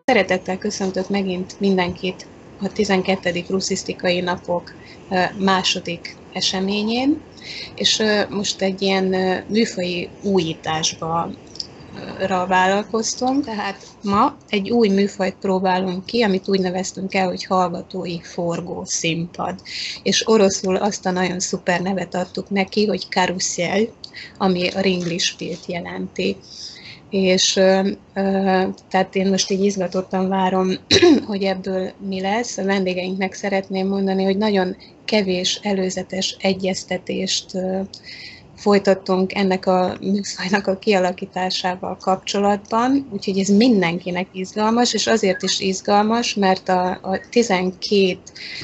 Szeretettel köszöntök megint mindenkit a 12. Russzisztikai napok második eseményén, és most egy ilyen műfaji újításba vállalkoztunk, tehát ma egy új műfajt próbálunk ki, amit úgy neveztünk el, hogy hallgatói forgószínpad. És oroszul azt a nagyon szuper nevet adtuk neki, hogy karuszel, ami a ringlispielt jelenti. És tehát én most így izgatottan várom, hogy ebből mi lesz. A vendégeinknek szeretném mondani, hogy nagyon kevés előzetes egyeztetést folytattunk ennek a műfajnak a kialakításával kapcsolatban, úgyhogy ez mindenkinek izgalmas, és azért is izgalmas, mert a 12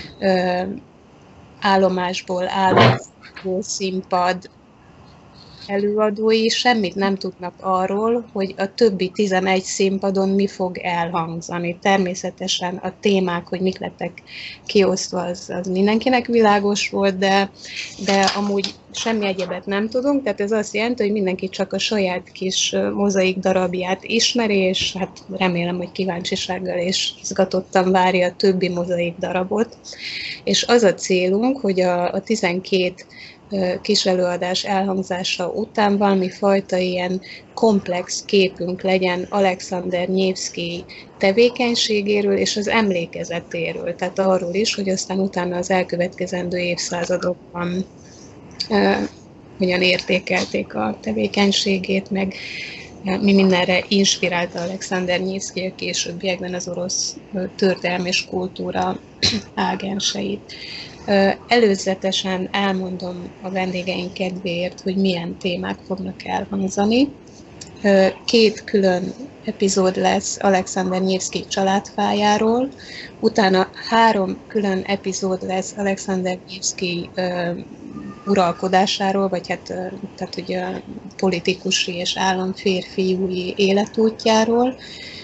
állomásból álló színpad előadói semmit nem tudnak arról, hogy a többi 11 színpadon mi fog elhangzani. Természetesen a témák, hogy mik lettek kiosztva, az mindenkinek világos volt, de amúgy semmi egyebet nem tudunk, tehát ez azt jelenti, hogy mindenki csak a saját kis mozaik darabját ismeri, és hát remélem, hogy kíváncsisággal és izgatottan várja a többi mozaik darabot. És az a célunk, hogy a 12 kis előadás elhangzása után valami fajta ilyen komplex képünk legyen Alexander Nyevszkij tevékenységéről és az emlékezetéről, tehát arról is, hogy aztán utána az elkövetkezendő évszázadokban hogyan értékelték a tevékenységét, meg mi mindenre inspirálta Alexander Nyevszkij a későbbiekben az orosz történelem és kultúra ágenseit. Előzetesen elmondom a vendégeink kedvéért, hogy milyen témák fognak elhangzani. 2 külön epizód lesz Alexander Nyevszkij családfájáról, utána 3 külön epizód lesz Alexander Nyevszkij uralkodásáról, vagy tehát ugye politikusi és államférfiúi életútjáról.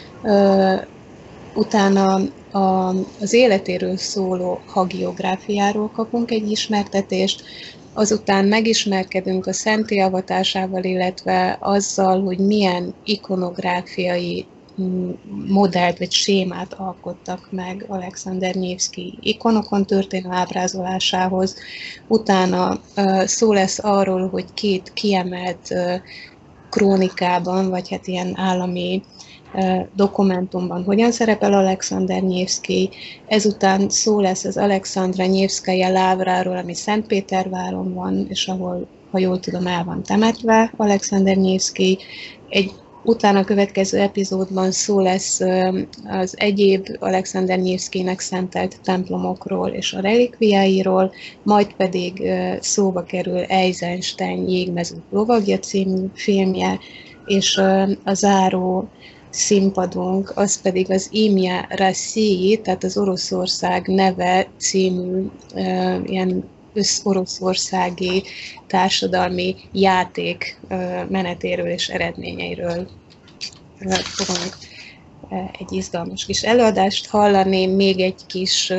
Utána az életéről szóló hagiográfiáról kapunk egy ismertetést, azután megismerkedünk a szentté avatásával, illetve azzal, hogy milyen ikonográfiai modellt vagy sémát alkottak meg Alexander Nyevszkij ikonokon történő ábrázolásához. Utána szó lesz arról, hogy 2 kiemelt krónikában, vagy hát ilyen állami dokumentumban hogyan szerepel Alexander Nyevszkij. Ezután szó lesz az Alexandra Nyevszkaja lávráról, ami Szentpéterváron van, és ahol, ha jól tudom, el van temetve Alexander Nyevszkij. Egy utána következő epizódban szó lesz az egyéb Alexander Nyevszkijnek szentelt templomokról és a relikviáiról, majd pedig szóba kerül Eisenstein Jégmező lovagja című filmje, és a záró színpadunk, az pedig az Imja Rossii, tehát az Oroszország neve című ilyen összoroszországi társadalmi játék menetéről és eredményeiről fogunk egy izgalmas kis előadást hallani, még egy kis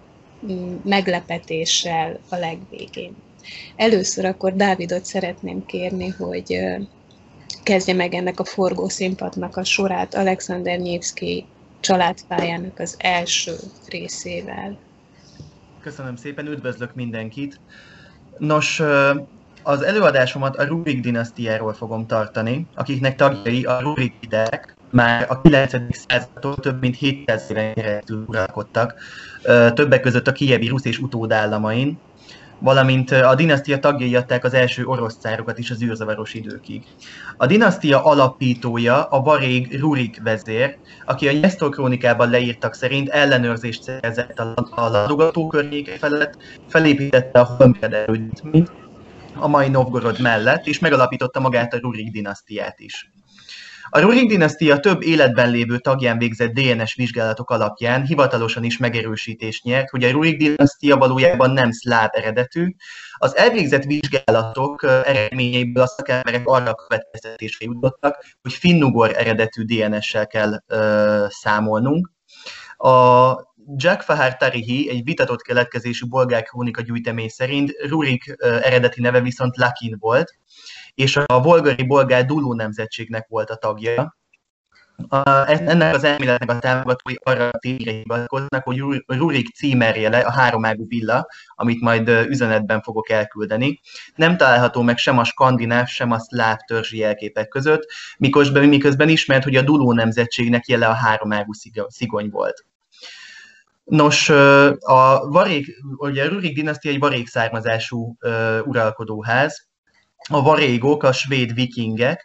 meglepetéssel a legvégén. Először akkor Dávidot szeretném kérni, hogy kezdje meg ennek a forgószínpadnak a sorát Alexander Nyevszkij családpályának az első részével. Köszönöm szépen, üdvözlök mindenkit! Nos, az előadásomat a Rurik-dinasztiáról fogom tartani, akiknek tagjai a Rurikitek már a 9. századtól több mint 700 éven keresztül uralkodtak, többek között a kijevi rusz és utódállamain, valamint a dinasztia tagjai adták az első orosz cárokat is az űrzavaros időkig. A dinasztia alapítója a varég Rurik vezér, aki a Nyesztor krónikában leírtak szerint ellenőrzést szerzett a látogató környéke felett, felépítette a Holmgerd erődítményt a mai Novgorod mellett, és megalapította magát a Rurik dinasztiát is. A Rurik-dinasztia több életben lévő tagján végzett DNS vizsgálatok alapján hivatalosan is megerősítést nyert, hogy a Rurik-dinasztia valójában nem szláv eredetű. Az elvégzett vizsgálatok eredményeiből a szakemberek arra a következtetésre jutottak, hogy finnugor eredetű DNS-sel kell számolnunk. A Jackfahar Tarihi, egy vitatott keletkezésű bolgár krónika gyűjtemény szerint Rurik eredeti neve viszont Lakin volt, és a volgari bolgár Dulu nemzetségnek volt a tagja. Ennek az elméletnek a támogatói arra a tényre hivatkoznak, hogy Rurik címerjele a háromágú villa, amit majd üzenetben fogok elküldeni, nem található meg sem a skandináv, sem a szláv törzsi jelképek között, miközben ismert, hogy a Duló nemzetségnek jele a háromágú szigony volt. Nos, ugye a Rurik dinasztia egy varég származású uralkodóház. A varégok, a svéd vikingek,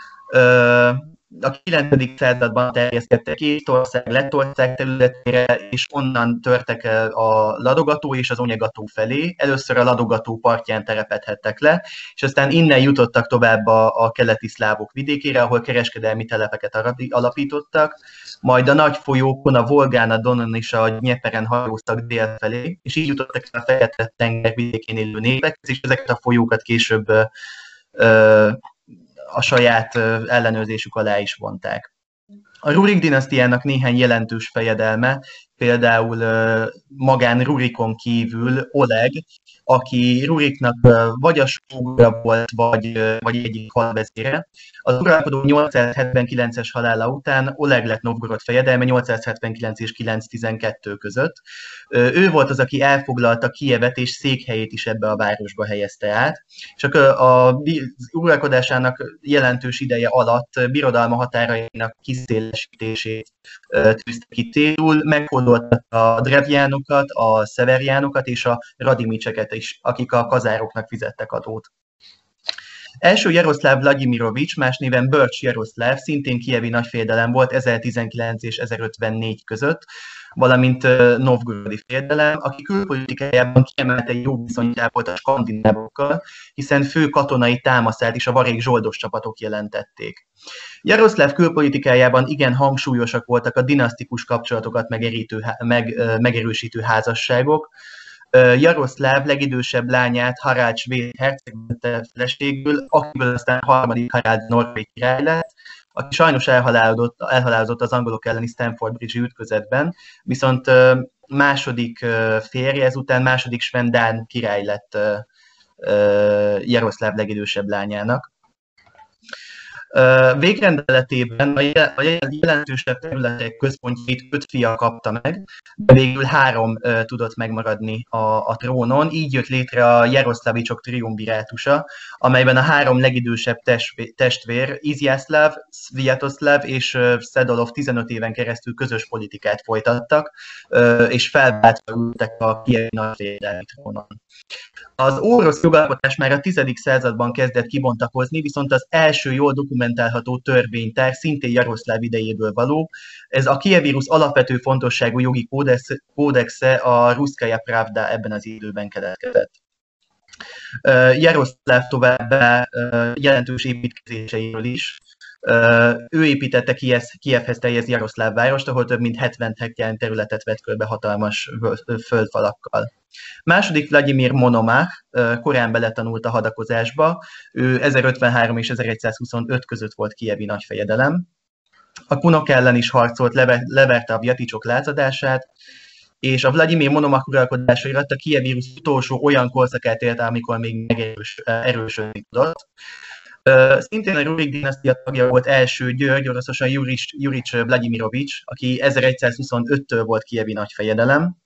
a 9. században terjeszkedtek Észtország, Lettország területére, és onnan törtek el a Ladogató és az Onyegató felé. Először a Ladogató partján telepedhettek le, és aztán innen jutottak tovább a keleti szlávok vidékére, ahol kereskedelmi telepeket alapítottak, majd a nagy folyókon, a Volgán, a Donon és a Dnyeperen hajóztak dél felé, és így jutottak el a Fekete-tenger vidékén élő népekhez, és ezeket a folyókat később a saját ellenőrzésük alá is vonták. A Rurik dinasztiának néhány jelentős fejedelme, például magán Rurikon kívül Oleg, aki Ruriknak vagy a sógora volt, vagy egyik halvezére. Az uralkodó 879-es halála után Oleg lett Novgorod fejedelme 879 és 912 között. Ő volt az, aki elfoglalta Kijevet, és székhelyét is ebbe a városba helyezte át. Csak a uralkodásának jelentős ideje alatt birodalma határainak kiszélesítését tűzte ki célul, meghódoltatta a drevjánokat, a szeverjánokat és a radimicseket is, akik a kazároknak fizettek adót. Első Jaroszláv Vladimirovics, más néven Bölcs Jaroszláv, szintén kijevi nagyfejedelem volt 1019 és 1054 között, valamint novgorodi fejedelem, aki külpolitikájában kiemelte jó viszonyt ápolt a skandinávokkal, hiszen fő katonai támaszát is a varég zsoldos csapatok jelentették. Jaroszláv külpolitikájában igen hangsúlyosak voltak a dinasztikus kapcsolatokat megerősítő házasságok. Jaroszláv legidősebb lányát, Harald svéd herceg vette feleségül, akiből aztán harmadik Harald norvég király lett, aki sajnos elhalálozott az angolok elleni Stamford Bridge-i ütközetben, viszont második férje ezután második Svend-Dán király lett Jaroszláv legidősebb lányának. Végrendeletében a jelentősebb területek központjait 5 fia kapta meg, de végül 3 tudott megmaradni a trónon. Így jött létre a Jaroszlavicsok triumvirátusa, amelyben a 3 legidősebb testvér, Izjászláv, Sviatoszláv és Szedolov 15 éven keresztül közös politikát folytattak, és felváltva ültek a kijevi nagyfejedelmi trónon. Az orosz jogalkotás már a 10. században kezdett kibontakozni, viszont az első jól dokumentálható törvénytár szintén Jaroszláv idejéből való. Ez a Kijevi Rusz alapvető fontosságú jogi kódexe, a Ruszkaja Pravda ebben az időben keletkezett. Jaroszláv továbbá jelentős építkezéseiről is. Ő építette Kijevhez terjedő Jaroszláv várost, ahol több mint 70 hektár területet vett körbe hatalmas földfalakkal. Második Vladimir Monomach korán beletanult a hadakozásba, ő 1053 és 1125 között volt kijevi nagyfejedelem. A kunok ellen is harcolt, leverte a vjaticsok lázadását, és a Vladimir Monomach uralkodása alatt a Kijevi Rusz utolsó olyan korszakát élte, amikor még erősödni tudott. Szintén a Rurik dinasztia tagja volt első György, oroszosan Jurics Vladimirovics, aki 1125-től volt kijevi nagyfejedelem.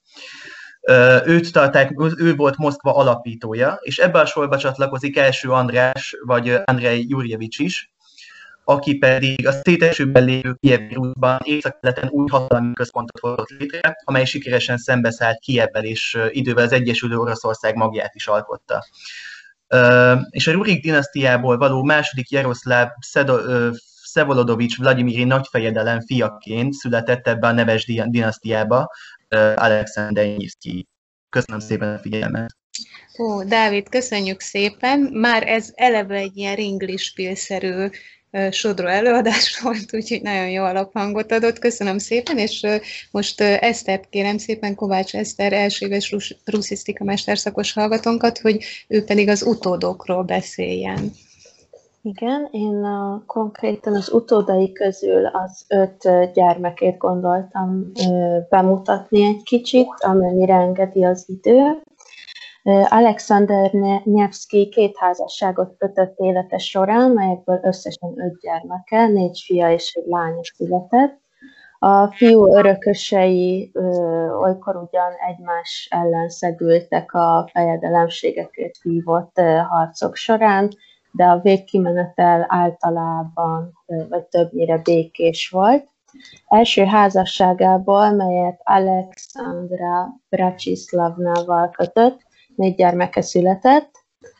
Ő volt Moszkva alapítója, és ebbe a sorba csatlakozik első András, vagy Andrej Jurjevics is, aki pedig a szétesőben lévő Kijevi Ruszban északkeleten új hatalmi központot hozott létre, amely sikeresen szembeszállt Kijevvel, és idővel az Egyesülő Oroszország magját is alkotta. És a Rurik dinasztiából való második Jaroszláv Szevolodovics Vladimiri nagyfejedelem fiaként született ebbe a neves dinasztiába Alexander Nyivszkij. Köszönöm szépen a figyelmet! Ó, Dávid, köszönjük szépen! Már ez eleve egy ilyen ringlispil-szerű sodró előadás volt, úgyhogy nagyon jó alaphangot adott. Köszönöm szépen, és most Esztert kérem szépen, Kovács Eszter, első éves ruszisztika mesterszakos hallgatónkat, hogy ő pedig az utódokról beszéljen. Igen, én konkrétan az utódai közül az 5 gyermekét gondoltam bemutatni egy kicsit, amennyire engedi az idő. Alexander Nevsky 2 házasságot kötött élete során, melyekből összesen 5 gyermeke, 4 fia és 1 lánya született. A fiú örökösei olykor ugyan egymás ellen szegültek a fejedelemségekért vívott harcok során, de a végkimenetel általában vagy többnyire békés volt. Első házasságából, melyet Alexandra Bratislavnával kötött, 4 gyermeke született,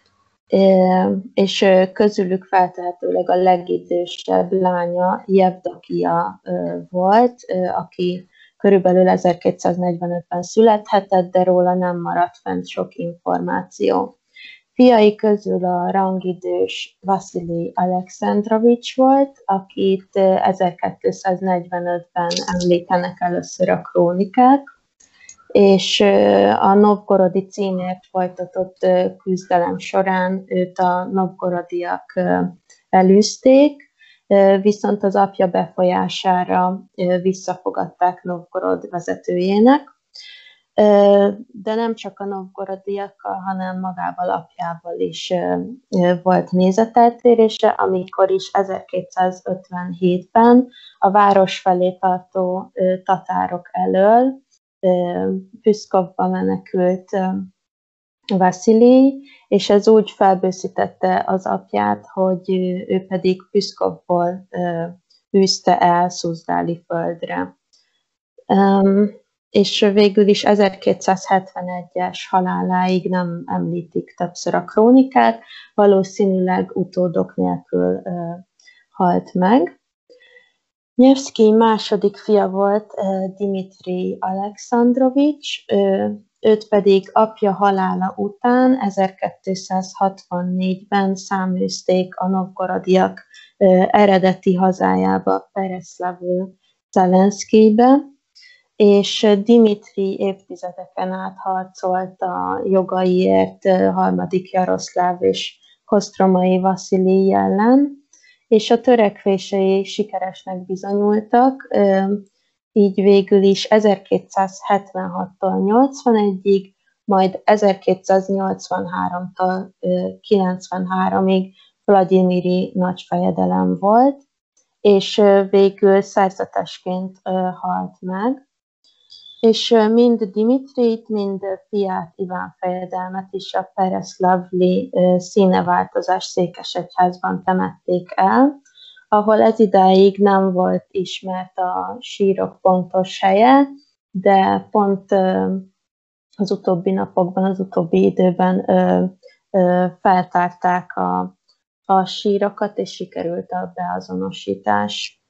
és közülük feltehetőleg a legidősebb lánya Jevdakia volt, aki körülbelül 1245-ben születhetett, de róla nem maradt fent sok információ. Fiai közül a rangidős Vasili Alexandrovics volt, akit 1245-ben említenek először a krónikák, és a novgorodi címért folytatott küzdelem során őt a novgorodiak elűzték, viszont az apja befolyására visszafogadták Novgorod vezetőjének. De nem csak a novgorodiakkal, hanem magával apjával is volt nézeteltérése, amikor is 1257-ben a város felé tartó tatárok elől Püszkovba menekült Vasilij, és ez úgy felbőszítette az apját, hogy ő pedig Püszkovból űzte el Szuzdáli földre. És végül is 1271-es haláláig nem említik többször a krónikák, valószínűleg utódok nélkül halt meg. Nevsky második fia volt Dimitri Alexandrovics, őt pedig apja halála után 1264-ben száműzték a novgorodiak eredeti hazájába, Pereslavl-Zelenszkijbe, és Dimitri évtizedeken át harcolt a jogaiért harmadik Jaroszláv és Kosztromai Vasilij ellen, és a törekvései sikeresnek bizonyultak, így végül is 1276-tól 81-ig, majd 1283-tól 93-ig Vlagyimiri nagyfejedelem volt, és végül szerzetesként halt meg. És mind Dimitrit, mind fiát Iván fejedelmet is a Pereszlavli színeváltozás székesegyházban temették el, ahol ez idáig nem volt ismert a sírok pontos helye, de pont az utóbbi napokban, az utóbbi időben feltárták a sírokat, és sikerült a beazonosítás.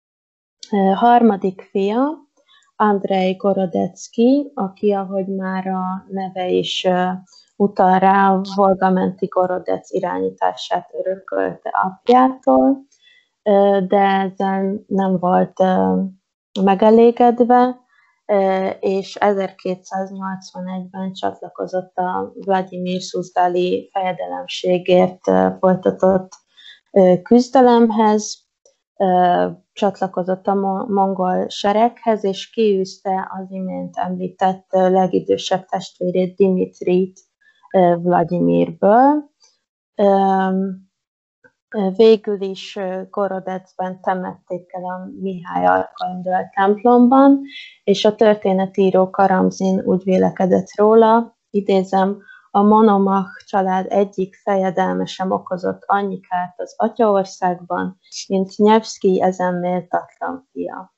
Harmadik fia, Andrei Gorodecki, aki, ahogy már a neve is utal rá, a Volga-menti Gorodec irányítását örökölte apjától, de ezzel nem volt megelégedve, és 1281-ben csatlakozott a Vlagyimir Szuzdáli fejedelemségért folytatott küzdelemhez, csatlakozott a mongol sereghez, és kiűzte az imént említett legidősebb testvérét, Dimitrit Vlagyimirből. Végül is Gorodecben temették el a Mihály Arkangyal templomban, és a történetíró Karamzin úgy vélekedett róla, idézem, a Monomach család egyik fejedelme sem okozott annyi kárt az Atyaországban, mint Nevsky ezen méltatlan fia.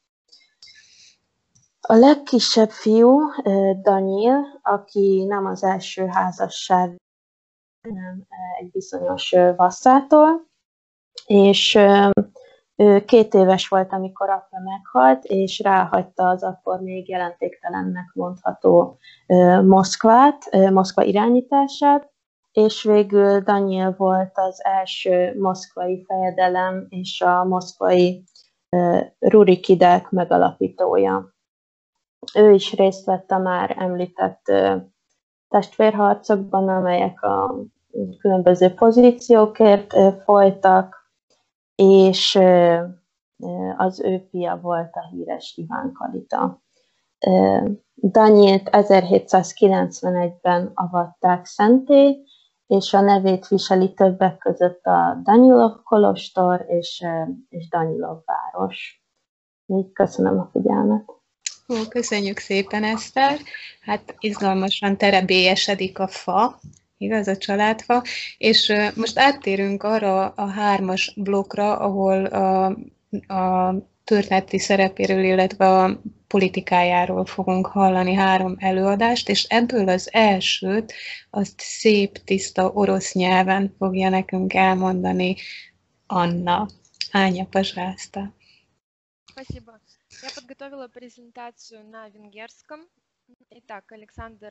A legkisebb fiú, Danyil, aki nem az első házasság, hanem egy bizonyos vasszától, és ő 2 éves volt, amikor apja meghalt, és ráhagyta az akkor még jelentéktelennek mondható Moszkva irányítását, és végül Danyil volt az első moszkvai fejedelem és a moszkvai Rurikidek megalapítója. Ő is részt vett a már említett testvérharcokban, amelyek a különböző pozíciókért folytak, és az ő fia volt a híres Iván Kalita. Danilt 1791-ben avatták szenté, és a nevét viseli többek között a Danilov kolostor és Danilov város. Így köszönöm a figyelmet. Köszönjük szépen, Eszter. Hát izgalmasan terebélyesedik a fa, igaz, a családfa, és most áttérünk arra a 3-as blokkra, ahol a történeti szerepéről, illetve a politikájáról fogunk hallani 3 előadást, és ebből az elsőt azt szép, tiszta orosz nyelven fogja nekünk elmondani Anna. Аня, пожалуйста. Спасибо. Я подготовила презентацию на венгерском. Итак, Александр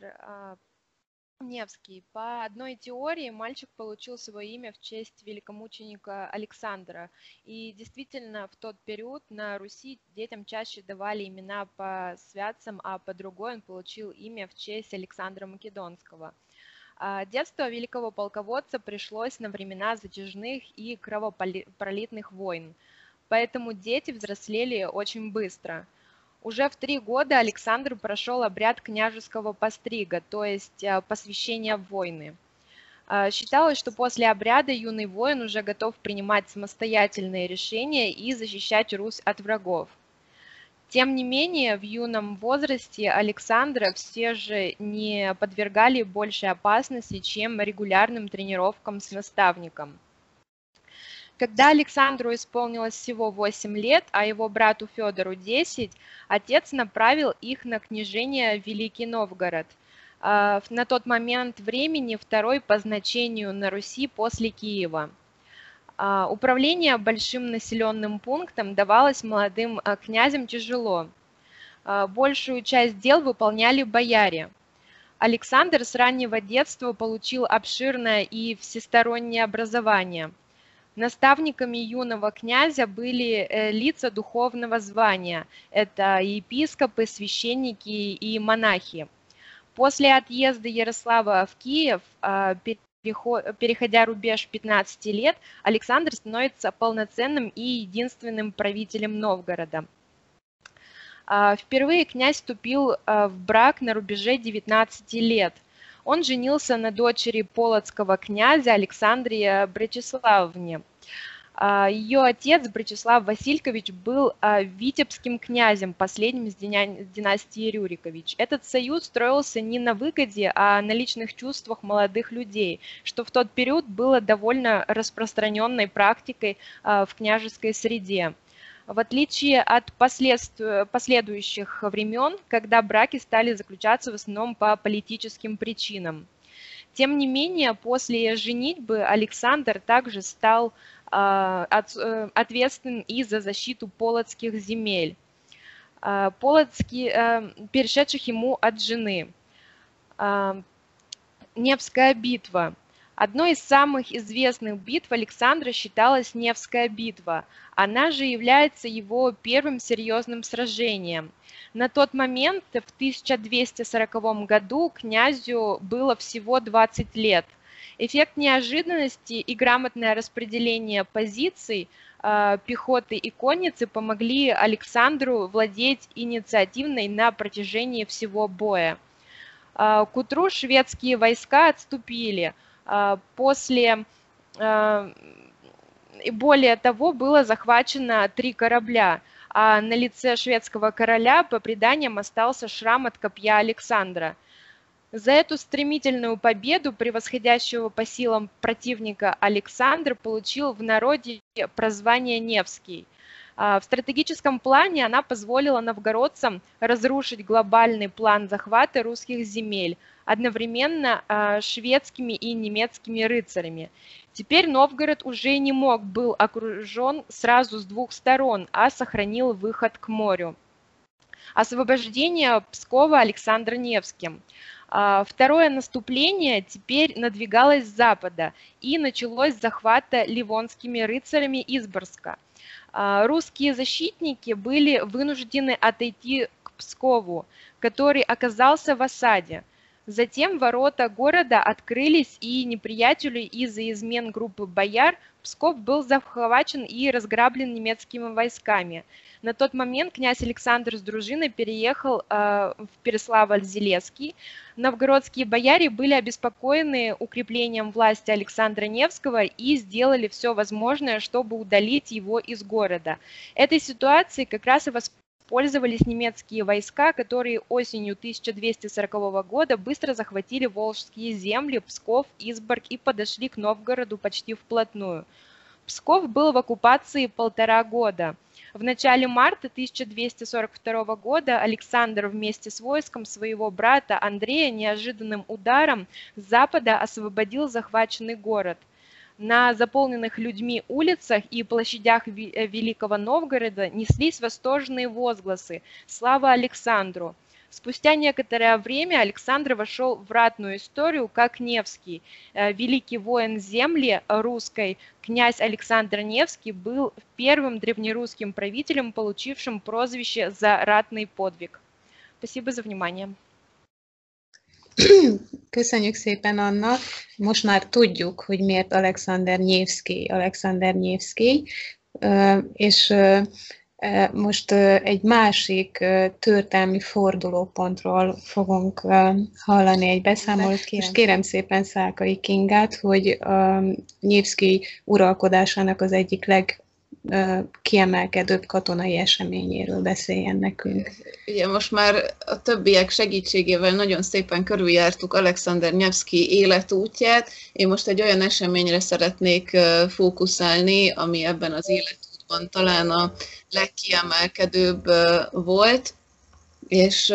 Невский. По одной теории мальчик получил свое имя в честь великомученика Александра. И действительно, в тот период на Руси детям чаще давали имена по святцам, а по другой он получил имя в честь Александра Македонского. Детство великого полководца пришлось на времена затяжных и кровопролитных войн. Поэтому дети взрослели очень быстро. Уже в 3 года Александр прошел обряд княжеского пострига, то есть посвящения в войны. Считалось, что после обряда юный воин уже готов принимать самостоятельные решения и защищать Русь от врагов. Тем не менее, в юном возрасте Александра все же не подвергали большей опасности, чем регулярным тренировкам с наставником. Когда Александру исполнилось всего 8 лет, а его брату Федору 10, отец направил их на княжение в Великий Новгород. На тот момент времени второй по значению на Руси после Киева. Управление большим населенным пунктом давалось молодым князям тяжело. Большую часть дел выполняли бояре. Александр с раннего детства получил обширное и всестороннее образование. Наставниками юного князя были лица духовного звания. Это епископы, священники и монахи. После отъезда Ярослава в Киев, переходя рубеж 15 лет, Александр становится полноценным и единственным правителем Новгорода. Впервые князь вступил в брак на рубеже 19 лет. Он женился на дочери полоцкого князя Александре Бречеславовне. Ее отец Бречеслав Василькович был витебским князем, последним из династии Рюрикович. Этот союз строился не на выгоде, а на личных чувствах молодых людей, что в тот период было довольно распространенной практикой в княжеской среде. В отличие от последующих времен, когда браки стали заключаться в основном по политическим причинам. Тем не менее, после женитьбы Александр также стал ответственен и за защиту полоцких земель, перешедших ему от жены. Невская битва. Одной из самых известных битв Александра считалась Невская битва. Она же является его первым серьезным сражением. На тот момент, в 1240 году, князю было всего 20 лет. Эффект неожиданности и грамотное распределение позиций пехоты и конницы помогли Александру владеть инициативой на протяжении всего боя. К утру шведские войска отступили. Более того, было захвачено 3 корабля, а на лице шведского короля, по преданиям, остался шрам от копья Александра. За эту стремительную победу превосходящего по силам противника Александр получил в народе прозвание Невский. В стратегическом плане она позволила новгородцам разрушить глобальный план захвата русских земель, одновременно шведскими и немецкими рыцарями. Теперь Новгород уже не был окружен сразу с 2 сторон, а сохранил выход к морю. Освобождение Пскова Александром Невским. Второе наступление теперь надвигалось с запада и началось с захвата ливонскими рыцарями Изборска. Русские защитники были вынуждены отойти к Пскову, который оказался в осаде. Затем ворота города открылись, и неприятелю из-за измен группы бояр Псков был захвачен и разграблен немецкими войсками. На тот момент князь Александр с дружиной переехал в Переславль-Зелесский. Новгородские бояре были обеспокоены укреплением власти Александра Невского и сделали все возможное, чтобы удалить его из города. Этой ситуацией как раз и воспользовались немецкие войска, которые осенью 1240 года быстро захватили Волжские земли, Псков, Изборг и подошли к Новгороду почти вплотную. Псков был в оккупации 1,5 года. В начале марта 1242 года Александр вместе с войском своего брата Андрея неожиданным ударом с запада освободил захваченный город. На заполненных людьми улицах и площадях Великого Новгорода неслись восторженные возгласы «Слава Александру!». Спустя некоторое время Александр вошел в ратную историю как Невский. Великий воин земли русской, князь Александр Невский, был первым древнерусским правителем, получившим прозвище за ратный подвиг. Спасибо за внимание. Köszönjük szépen, Anna. Most már tudjuk, hogy miért Alexander Nevsky, és most egy másik történelmi fordulópontról fogunk hallani egy beszámolót. És kérem szépen Szálkai Kingát, hogy Nevsky uralkodásának az egyik legkiemelkedőbb katonai eseményéről beszéljen nekünk. Ugye most már a többiek segítségével nagyon szépen körüljártuk Alexander Nevsky életútját. Én most egy olyan eseményre szeretnék fókuszálni, ami ebben az életútban talán a legkiemelkedőbb volt, és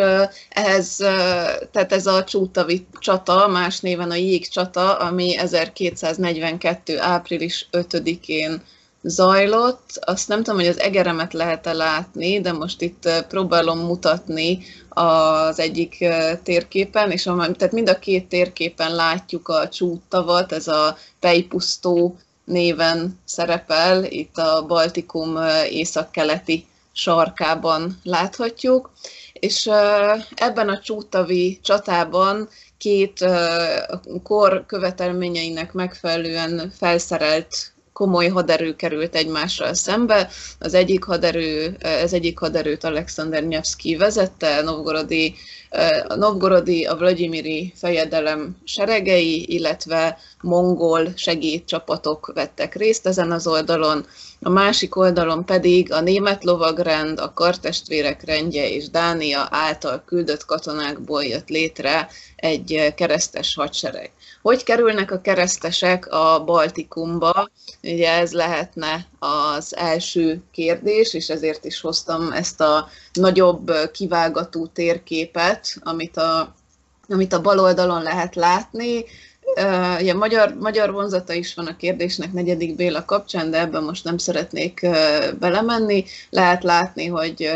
tehát ez a Csútavi csata, más néven a Jégcsata, ami 1242. április 5-én zajlott. Azt nem tudom, hogy az egeremet lehet-e látni, de most itt próbálom mutatni az egyik térképen, és tehát mind a két térképen látjuk a Csúttavat, ez a Pejpusztó néven szerepel, itt a Baltikum északkeleti sarkában láthatjuk, és ebben a Csútavi csatában két kor követelményeinek megfelelően felszerelt komoly haderő került egymással szembe. Az egyik haderőt Alexander Nevsky vezette, a novgorodi, a vlagyimiri fejedelem seregei, illetve mongol segédcsapatok vettek részt ezen az oldalon. A másik oldalon pedig a német lovagrend, a kartestvérek rendje és Dánia által küldött katonákból jött létre egy keresztes hadsereg. Hogy kerülnek a keresztesek a Baltikumba? Ugye ez lehetne az első kérdés, és ezért is hoztam ezt a nagyobb kivágató térképet, amit a bal oldalon lehet látni. Ugye magyar vonzata is van a kérdésnek Negyedik Béla kapcsán, de ebben most nem szeretnék belemenni. Lehet látni, hogy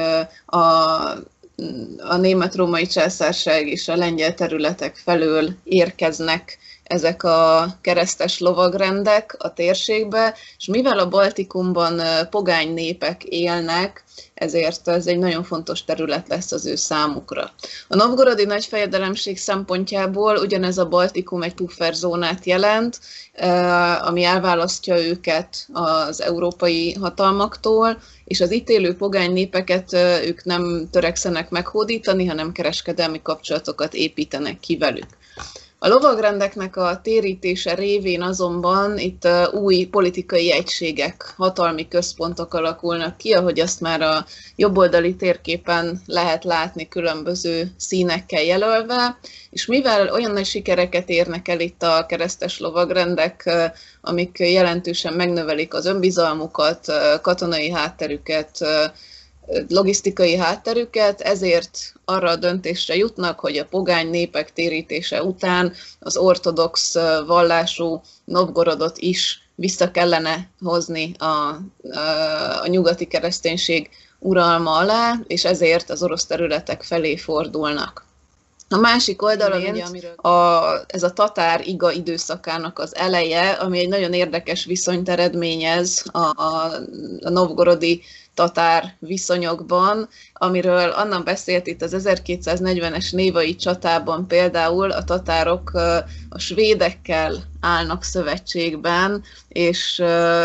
a német-római császárság és a lengyel területek felől érkeznek ezek a keresztes lovagrendek a térségbe, és mivel a Baltikumban pogány népek élnek, ezért ez egy nagyon fontos terület lesz az ő számukra. A novgorodi nagyfejedelemség szempontjából ugyanez a Baltikum egy pufferzónát jelent, ami elválasztja őket az európai hatalmaktól, és az itt élő pogány népeket ők nem törekszenek meghódítani, hanem kereskedelmi kapcsolatokat építenek ki velük. A lovagrendeknek a térítése révén azonban itt új politikai egységek, hatalmi központok alakulnak ki, ahogy azt már a jobboldali térképen lehet látni különböző színekkel jelölve, és mivel olyan nagy sikereket érnek el itt a keresztes lovagrendek, amik jelentősen megnövelik az önbizalmukat, katonai hátterüket, logisztikai hátterüket, ezért arra a döntésre jutnak, hogy a pogány népek térítése után az ortodox vallású Novgorodot is vissza kellene hozni a nyugati kereszténység uralma alá, és ezért az orosz területek felé fordulnak. A másik oldalon ugye, ez a tatár iga időszakának az eleje, ami egy nagyon érdekes viszonyt eredményez a novgorodi tatár viszonyokban, amiről Anna beszélt itt az 1240-es névai csatában például a tatárok a svédekkel állnak szövetségben, és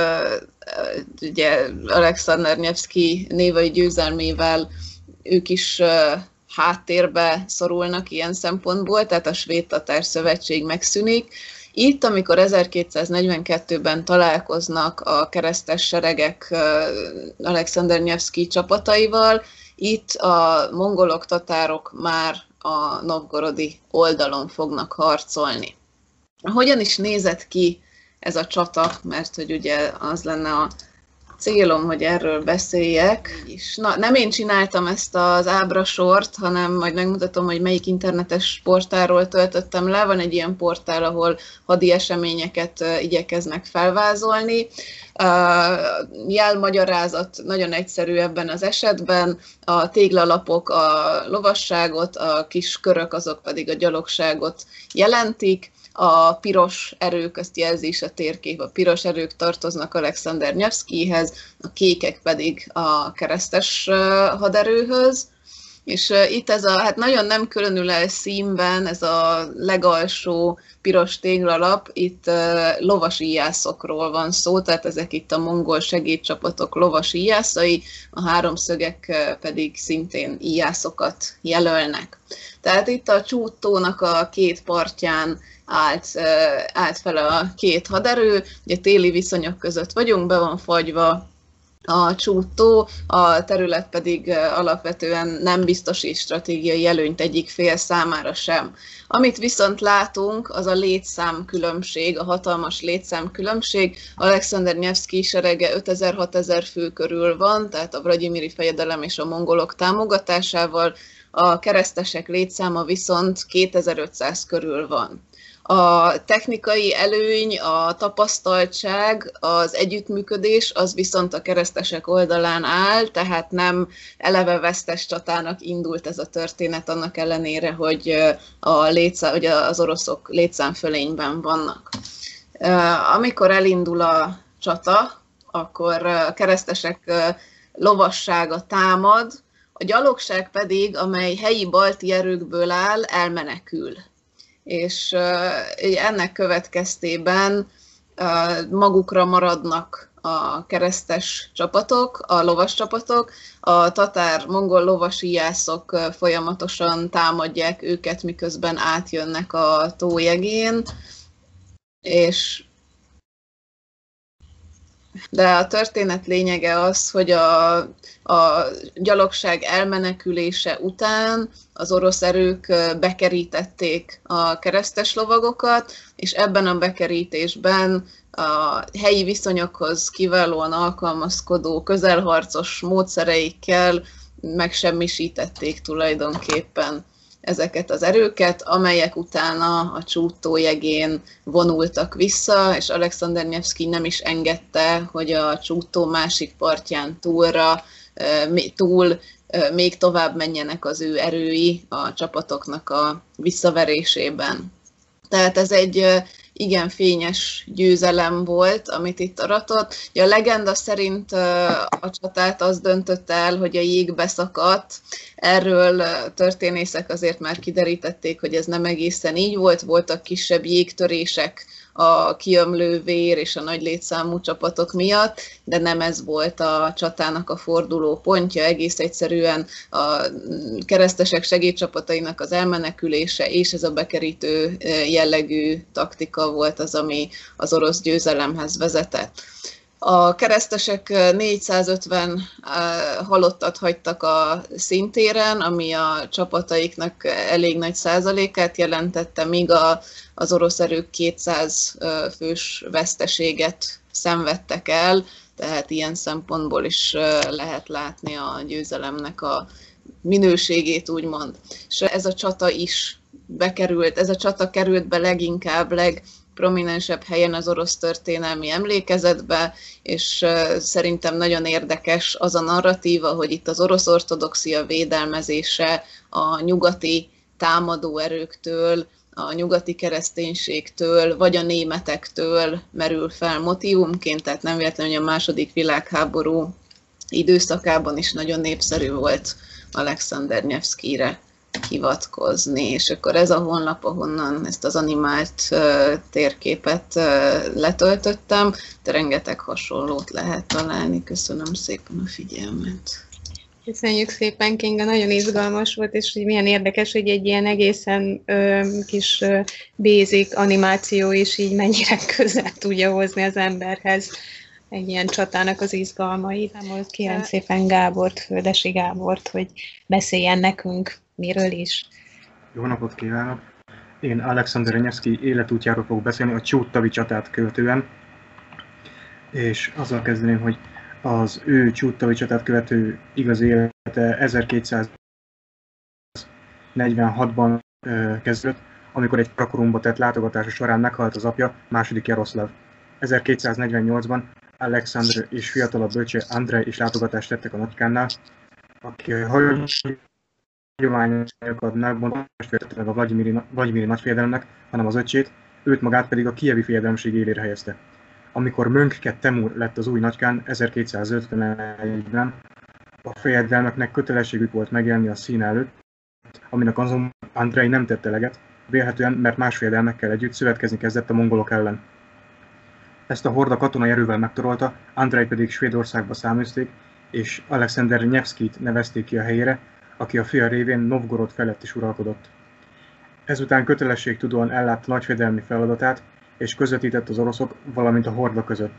ugye Alexander Nevszky névai győzelmével ők is háttérbe szorulnak ilyen szempontból, tehát a svéd-tatár szövetség megszűnik. Itt, amikor 1242-ben találkoznak a keresztes seregek Alexander Nevszky csapataival, itt a mongolok, tatárok már a novgorodi oldalon fognak harcolni. Hogyan is nézett ki ez a csata, mert hogy ugye az lenne a célom, hogy erről beszéljek. Nem én csináltam ezt az ábrasort, hanem majd megmutatom, hogy melyik internetes portálról töltöttem le. Van egy ilyen portál, ahol hadi eseményeket igyekeznek felvázolni. Jelmagyarázat nagyon egyszerű ebben az esetben. A téglalapok a lovasságot, a kis körök azok pedig a gyalogságot jelentik. A piros erők, azt jelzi is a térkép, a piros erők tartoznak Alexander Nevszkyhez, a kékek pedig a keresztes haderőhöz. És itt ez hát nagyon nem különül el színben, ez a legalsó piros téglalap, itt lovas íjászokról van szó, tehát ezek itt a mongol segédcsapatok lovas íjászai, a háromszögek pedig szintén íjászokat jelölnek. Tehát itt a Csút-tónak a két partján állt fel a két haderő, ugye téli viszonyok között vagyunk, be van fagyva a Csút-tó, a terület pedig alapvetően nem biztosít stratégiai előnyt egyik fél számára sem. Amit viszont látunk, az a létszámkülönbség, a hatalmas létszámkülönbség. Alexander Nevszky serege 5000-6000 fő körül van, tehát a vlagyimiri fejedelem és a mongolok támogatásával, a keresztesek létszáma viszont 2500 körül van. A technikai előny, a tapasztaltság, az együttműködés, az viszont a keresztesek oldalán áll, tehát nem eleve vesztes csatának indult ez a történet, annak ellenére, hogy az oroszok létszámfölényben vannak. Amikor elindul a csata, akkor a keresztesek lovassága támad, a gyalogság pedig, amely helyi balti erőkből áll, elmenekül. És ennek következtében magukra maradnak a keresztes csapatok, a lovas csapatok, a tatár-mongol lovas íjászok folyamatosan támadják őket, miközben átjönnek a tó jegén, de a történet lényege az, hogy a gyalogság elmenekülése után az orosz erők bekerítették a keresztes lovagokat, és ebben a bekerítésben a helyi viszonyokhoz kiválóan alkalmazkodó közelharcos módszereikkel megsemmisítették tulajdonképpen ezeket az erőket, amelyek utána a Csút-tó jegén vonultak vissza, és Alexander Nevszky nem is engedte, hogy a Csút-tó másik partján túl még tovább menjenek az ő erői a csapatoknak a visszaverésében. Tehát ez egy igen fényes győzelem volt, amit itt aratott. A legenda szerint a csatát az döntött el, hogy a jég beszakadt. Erről történészek azért már kiderítették, hogy ez nem egészen így volt. Voltak kisebb jégtörések a kiömlő vér és a nagy létszámú csapatok miatt, de nem ez volt a csatának a forduló pontja, egész egyszerűen a keresztesek segédcsapatainak az elmenekülése és ez a bekerítő jellegű taktika volt az, ami az orosz győzelemhez vezetett. A keresztesek 450 halottat hagytak a színtéren, ami a csapataiknak elég nagy százalékát jelentette, míg az orosz erők 200 fős veszteséget szenvedtek el, tehát ilyen szempontból is lehet látni a győzelemnek a minőségét, úgymond. És ez a csata is bekerült, ez a csata került be leginkább, legprominensebb helyen az orosz történelmi emlékezetbe, és szerintem nagyon érdekes az a narratíva, hogy itt az orosz ortodoxia védelmezése a nyugati támadó erőktől, a nyugati kereszténységtől, vagy a németektől merül fel motívumként, tehát nem véletlenül, hogy a második világháború időszakában is nagyon népszerű volt Alexander Nevszkijre hivatkozni, és akkor ez a honlap, ahonnan ezt az animált térképet letöltöttem, de rengeteg hasonlót lehet találni. Köszönöm szépen a figyelmet. Köszönjük szépen, Kinga, nagyon izgalmas volt, és hogy milyen érdekes, hogy egy ilyen egészen kis basic animáció is így mennyire közel tudja hozni az emberhez egy ilyen csatának az izgalmait. Most kérem szépen Gábort, Földesi Gábort, hogy beszéljen nekünk miről is. Jó napot kívánok! Én Alexander Nevszkij életútjáról fogok beszélni a Csút-tavi csatát követően, és azzal kezdeném, hogy az ő Csút-tavi csatát követő igazi élete 1246-ban kezdődött, amikor egy Karakorumba tett látogatása során meghalt az apja, második Jaroszláv. 1248-ban Alexandr és fiatalabb bölcse Andrej is látogatást tettek a nagykánnál, aki a hagyományokat megbontva meg a Vlagyimiri nagyfejedelemnek, hanem az öccsét, őt magát pedig a kijevi fejedelemség élére helyezte. Amikor Möngke Temur lett az új nagykán 1251-ben, a fejedelmeknek kötelességük volt megjelenni a szín előtt, aminek azonban Andrej nem tette eleget, vélhetően, mert más fejedelmekkel együtt szövetkezni kezdett a mongolok ellen. Ezt a horda katonai erővel megtorolta, Andrej pedig Svédországba száműzték, és Alexander Nevszkijt nevezték ki a helyére, aki a fia révén Novgorod felett is uralkodott. Ezután kötelességtudóan ellátta nagyfejedelmi feladatát, és közvetített az oroszok, valamint a horda között.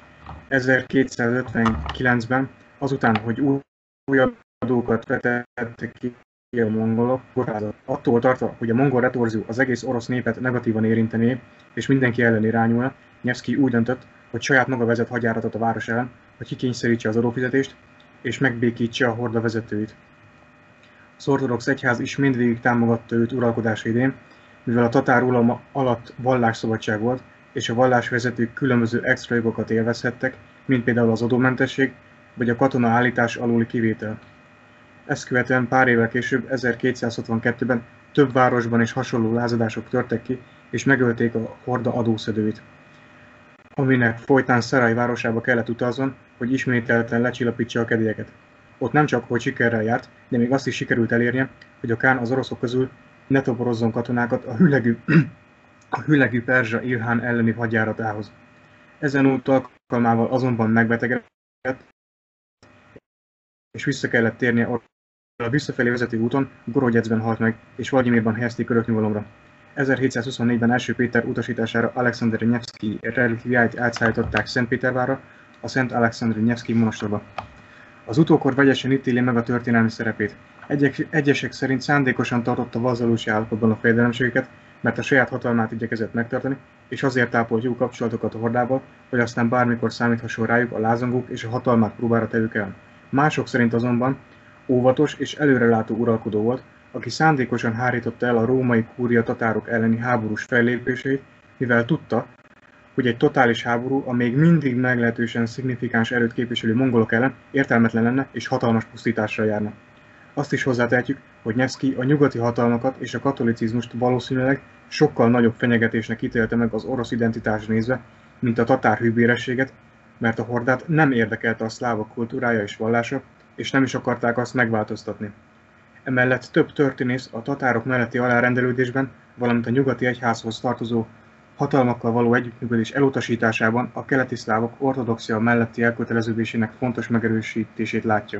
1259-ben, azután, hogy újabb adókat vetettek ki a mongolok, attól tartva, hogy a mongol retorzió az egész orosz népet negatívan érintené, és mindenki ellen irányulna, Nevszkij úgy döntött, hogy saját maga vezet hadjáratot a város ellen, hogy kikényszerítse az adófizetést, és megbékítse a horda vezetőit. Az ortodox egyház is mindvégig támogatta őt uralkodása idején, mivel a tatár uralma alatt vallásszabadság volt, és a vallásvezetők különböző extra jogokat élvezhettek, mint például az adómentesség, vagy a katona állítás aluli kivétel. Ezt követően pár évvel később, 1262-ben több városban is hasonló lázadások törtek ki, és megölték a horda adószedőit, aminek folytán Szaraj városába kellett utazzon, hogy ismételten lecsillapítsa a kedélyeket. Ott nem csak, hogy sikerrel járt, de még azt is sikerült elérnie, hogy a kán az oroszok közül ne toborozzon katonákat a hülegű perzsa Ilhán elleni hadjáratához. Ezen út alkalmával azonban megbetegedett, és vissza kellett térnie a visszafelé vezető úton, Gorogyecben halt meg, és Vlagyimirban helyezték öröknyugalomra. 1724-ben első Péter utasítására Alexander Nevszkij relikviáit átszállították Szentpétervárra, a Szent Alexander Nevszkij monostorba. Az utókor vegyesen ítéli meg a történelmi szerepét. Egyesek szerint szándékosan tartotta vazalósi állapotban a fejedelemségeket, mert a saját hatalmát igyekezett megtartani, és azért ápolt jó kapcsolatokat a hordával, hogy aztán bármikor számíthasson rájuk a lázongók és a hatalmát próbára tevők el. Mások szerint azonban óvatos és előrelátó uralkodó volt, aki szándékosan hárította el a római kúria tatárok elleni háborús fellépéseit, mivel tudta, hogy egy totális háború a még mindig meglehetősen szignifikáns erőt képviselő mongolok ellen értelmetlen lenne és hatalmas pusztításra járna. Azt is hozzátehetjük, hogy Nevszkij a nyugati hatalmakat és a katolicizmust valószínűleg sokkal nagyobb fenyegetésnek ítélte meg az orosz identitásra nézve, mint a tatár hűbérességet, mert a hordát nem érdekelte a szlávok kultúrája és vallása, és nem is akarták azt megváltoztatni. Emellett több történész a tatárok melletti alárendelődésben, valamint a nyugati egyházhoz tartozó hatalmakkal való együttműködés elutasításában a keleti szlávok ortodoxia melletti elköteleződésének fontos megerősítését látja.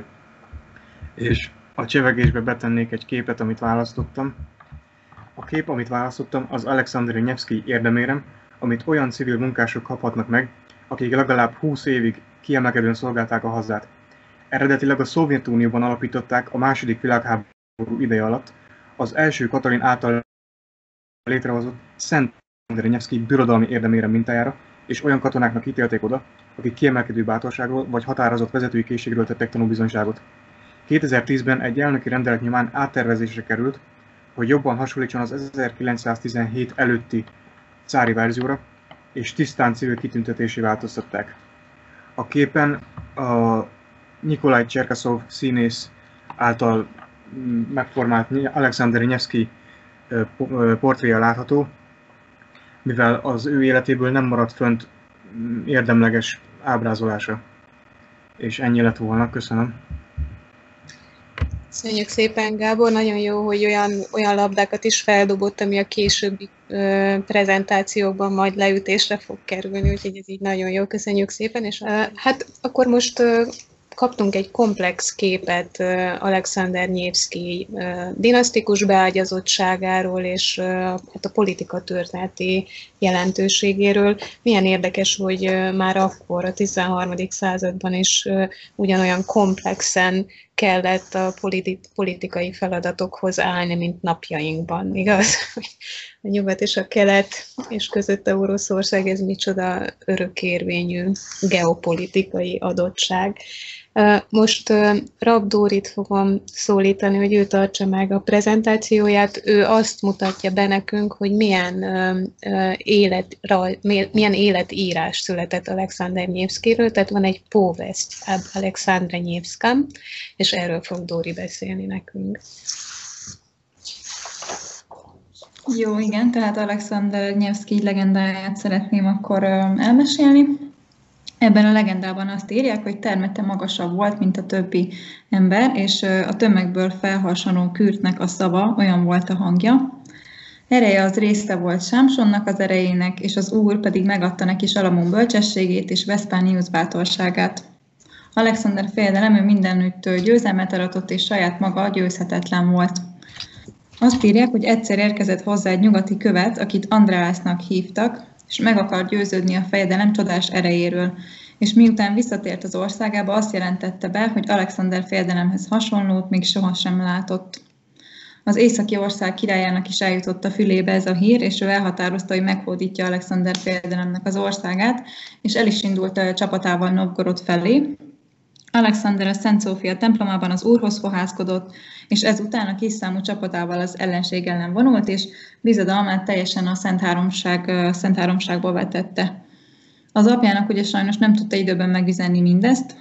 És a csevegésbe betennék egy képet, amit választottam. A kép, amit választottam, az Alexander Nevszkij érdemérem, amit olyan civil munkások kaphatnak meg, akik legalább 20 évig kiemelkedően szolgálták a hazát. Eredetileg a Szovjetunióban alapították a második világháború ideje alatt az első Katalin által létrehozott Szent Alexander Nevszkij birodalmi érdemérem mintájára, és olyan katonáknak ítélték oda, akik kiemelkedő bátorságról vagy határozott vezetői készségről tettek tanúbizonyságot. 2010-ben egy elnöki rendelet nyomán áttervezésre került, hogy jobban hasonlítson az 1917 előtti cári verzióra, és tisztán civil kitüntetésé változtatták. A képen a Nikolaj Cserkaszov színész által megformált Alexander Nevszkij portréja látható, mivel az ő életéből nem maradt fönt érdemleges ábrázolása. És ennyi lett volna, köszönöm. Köszönjük szépen, Gábor, nagyon jó, hogy olyan labdákat is feldobott, ami a későbbi prezentációkban majd leütésre fog kerülni, úgyhogy ez így nagyon jó, köszönjük szépen, és hát akkor most kaptunk egy komplex képet Alexander Nyevszkij dinasztikus beágyazottságáról és hát a politika történeti jelentőségéről. Milyen érdekes, hogy már akkor a 13. században is ugyanolyan komplexen kellett a politikai feladatokhoz állni, mint napjainkban, igaz? A nyugat és a kelet és között Oroszország, ez micsoda örökérvényű geopolitikai adottság. Most Rabb Dórit fogom szólítani, hogy ő tartsa meg a prezentációját. Ő azt mutatja be nekünk, hogy milyen életírás született Alexander Nyevszkijről, tehát van egy Povest об Alexandre Nyevszkam, és erről fog Dóri beszélni nekünk. Jó, igen, tehát Alexander Nyevszkij legendáját szeretném akkor elmesélni. Ebben a legendában azt írják, hogy termete magasabb volt, mint a többi ember, és a tömegből felharsanó Kürtnek a szava olyan volt a hangja. Ereje az része volt Sámsonnak az erejének, és az Úr pedig megadta neki Salamon bölcsességét és Veszpániusz bátorságát. Alexander fejedelem, ő mindenütt győzelmet aratott, és saját maga győzhetetlen volt. Azt írják, hogy egyszer érkezett hozzá egy nyugati követ, akit Andreasnak hívtak, és meg akar győződni a fejedelem csodás erejéről, és miután visszatért az országába, azt jelentette be, hogy Alexander fejedelemhez hasonlót még sohasem látott. Az északi ország királyának is eljutott a fülébe ez a hír, és ő elhatározta, hogy meghódítja Alexander fejedelemnek az országát, és el is indult a csapatával Novgorod felé. Alexander a Szent Szófia templomában az Úrhoz fohászkodott, és ezután a kis számú csapatával az ellenség ellen vonult, és bizodalmát teljesen a Szent Háromságba vetette. Az apjának ugye sajnos nem tudta időben megüzenni mindezt.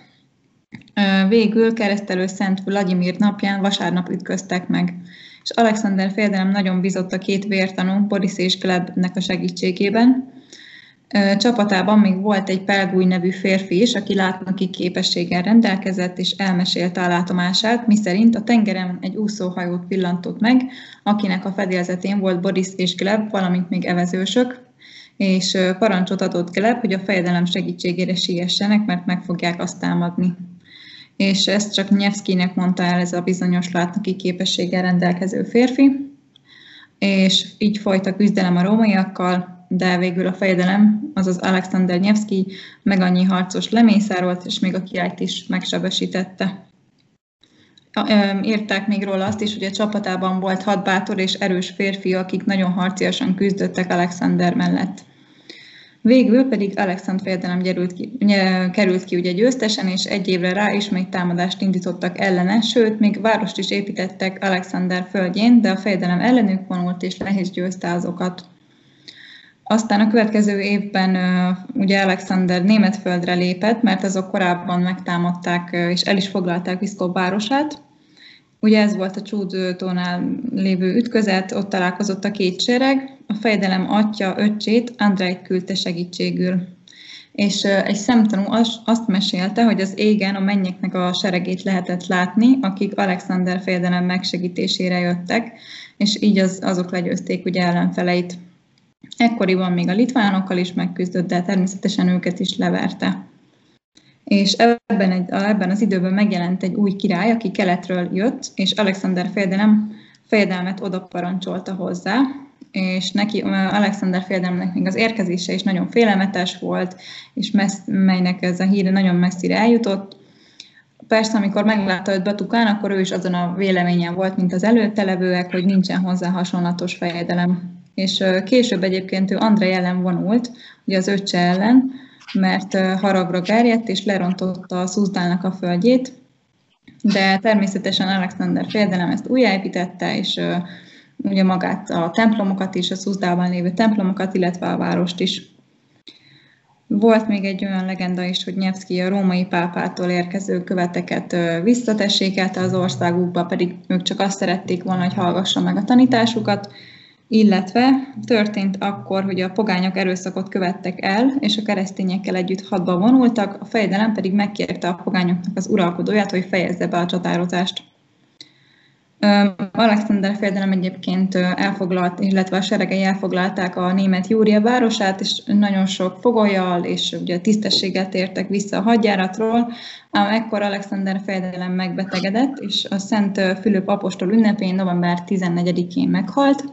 Végül keresztelő Szent Vladimir napján vasárnap ütköztek meg, és Alexander fejedelem nagyon bízott a két vértanú, Boris és Glebnek a segítségében. Csapatában még volt egy Pelgúj nevű férfi is, aki látnoki képességgel rendelkezett, és elmesélte a látomását, miszerint a tengeren egy úszóhajót pillantott meg, akinek a fedélzetén volt Boris és Gleb, valamint még evezősök, és parancsot adott Gleb, hogy a fejedelem segítségére siessenek, mert meg fogják azt támadni. És ezt csak Nyevszkijnek mondta el ez a bizonyos látnoki képességgel rendelkező férfi, és így folyt a küzdelem a rómaiakkal, de végül a fejedelem, azaz Alexander Nyevszkij meg annyi harcos lemészárolt, és még a királyt is megsebesítette. Írták még róla azt is, hogy a csapatában volt 6 bátor és erős férfi, akik nagyon harciasan küzdöttek Alexander mellett. Végül pedig Alexander fejedelem került ki ugye győztesen, és egy évre rá ismét támadást indítottak ellene, sőt, még várost is építettek Alexander földjén, de a fejedelem ellenük vonult, és le is győzte azokat. Aztán a következő évben ugye Alexander Németföldre lépett, mert azok korábban megtámadták és el is foglalták Pszkov városát. Ugye ez volt a Csúd-tónál lévő ütközet, ott találkozott a két sereg, a fejedelem atya öccsét, Andrejt küldte segítségül. És egy szemtanú azt mesélte, hogy az égen a mennyeknek a seregét lehetett látni, akik Alexander fejedelem megsegítésére jöttek, és így azok legyőzték ugye ellenfeleit. Ekkoriban még a litvánokkal is megküzdött, de természetesen őket is leverte. És ebben az időben megjelent egy új király, aki keletről jött, és Alexander fejedelmet oda parancsolta hozzá, és neki Alexander fejedelemnek még az érkezése is nagyon félelmetes volt, és melynek ez a híre nagyon messzire eljutott. Persze, amikor meglátta őt Batukán, akkor ő is azon a véleményen volt, mint az előtte levőek, hogy nincsen hozzá hasonlatos fejedelem. És később egyébként ő Andrej ellen vonult, ugye az öccse ellen, mert haragra gerjedt és lerontotta a Szuzdálnak a földjét, de természetesen Alexander fejedelem ezt újjáépítette, és ugye magát a templomokat is, a Szuzdálban lévő templomokat, illetve a várost is. Volt még egy olyan legenda is, hogy Nyevszkij a római pápától érkező követeket visszatessékelte az országukba, pedig ők csak azt szerették volna, hogy hallgassa meg a tanításukat, illetve történt akkor, hogy a pogányok erőszakot követtek el, és a keresztényekkel együtt hadba vonultak, a fejedelem pedig megkérte a pogányoknak az uralkodóját, hogy fejezze be a csatározást. Alexander fejedelem egyébként elfoglalt, illetve a seregei elfoglalták a német Júria városát, és nagyon sok fogollyal és ugye tisztességgel tértek vissza a hadjáratról, ám ekkor Alexander fejedelem megbetegedett, és a Szent Fülöp apostol ünnepén november 14-én meghalt,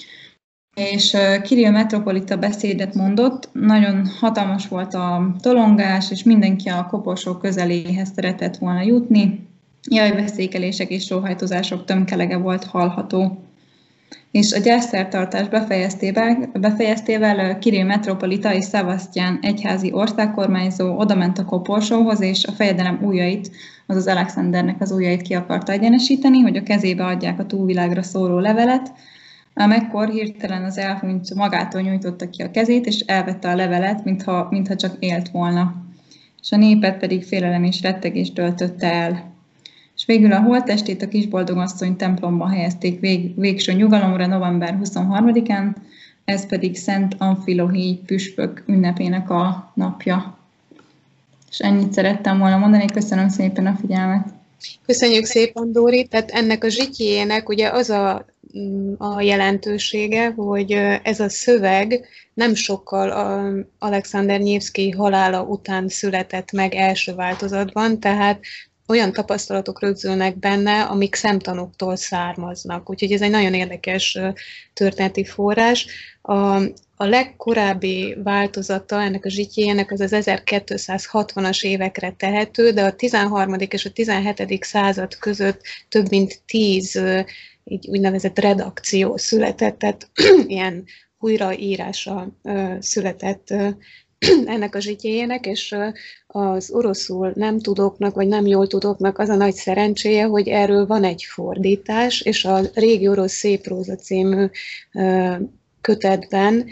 és Kirill metropolita beszédet mondott, nagyon hatalmas volt a tolongás, és mindenki a koporsó közeléhez szeretett volna jutni, jajveszékelések és sóhajtozások tömkelege volt hallható. És a gyászszertartás befejeztével Kirill metropolita és Szevasztyán egyházi országkormányzó odament a koporsóhoz, és a fejedelem ujjait, azaz Alexandernek az ujjait ki akarta egyenesíteni, hogy a kezébe adják a túlvilágra szóló levelet, ám ekkor hirtelen az elhunyt magától nyújtotta ki a kezét, és elvette a levelet, mintha csak élt volna. És a népet pedig félelem és rettegés töltötte el. És végül a holttestét a Kisboldogasszony templomba helyezték végső nyugalomra november 23-án, ez pedig Szent Amfilohíj püspök ünnepének a napja. És ennyit szerettem volna mondani, köszönöm szépen a figyelmet. Köszönjük szépen, Dóri. Tehát ennek a zsitjének ugye az a jelentősége, hogy ez a szöveg nem sokkal Alexander Nyevszkij halála után született meg első változatban, tehát olyan tapasztalatok rögzülnek benne, amik szemtanúktól származnak. Úgyhogy ez egy nagyon érdekes történeti forrás. A legkorábbi változata ennek a zsitjének az 1260-as évekre tehető, de a 13. és a 17. század között több mint 10 így úgynevezett redakció született, tehát ilyen újraírása született ennek a zsitjéjének, és az oroszul nem tudóknak, vagy nem jól tudóknak az a nagy szerencséje, hogy erről van egy fordítás, és a Régi orosz széppróza című kötetben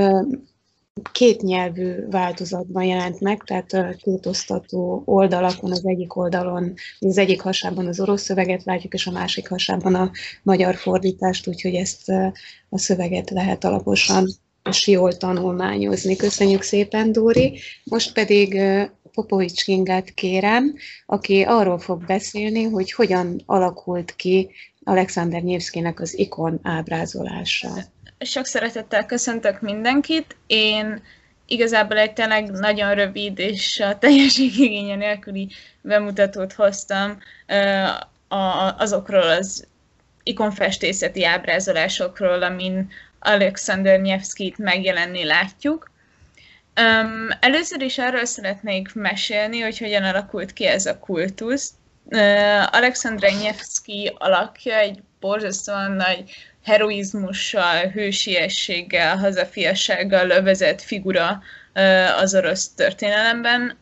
kétnyelvű változatban jelent meg, tehát kétosztatú oldalakon, az egyik oldalon, az egyik hasában az orosz szöveget látjuk, és a másik hasában a magyar fordítást, úgyhogy ezt a szöveget lehet alaposan és jól tanulmányozni. Köszönjük szépen, Dóri. Most pedig Popovics Kingát kérem, aki arról fog beszélni, hogy hogyan alakult ki Alexander Nyevszkijnek az ikon ábrázolása. Sok szeretettel köszöntök mindenkit. Én igazából egy tényleg nagyon rövid és a teljességigénye nélküli bemutatót hoztam azokról az ikonfestészeti ábrázolásokról, amin Alexander Nyevszkijt megjelenni látjuk. Először is arról szeretnék mesélni, hogy hogyan alakult ki ez a kultusz. Alexander Nyevszkij alakja egy borzasztóan nagy heroizmussal, hősiességgel, hazafiassággal övezett figura az orosz történelemben,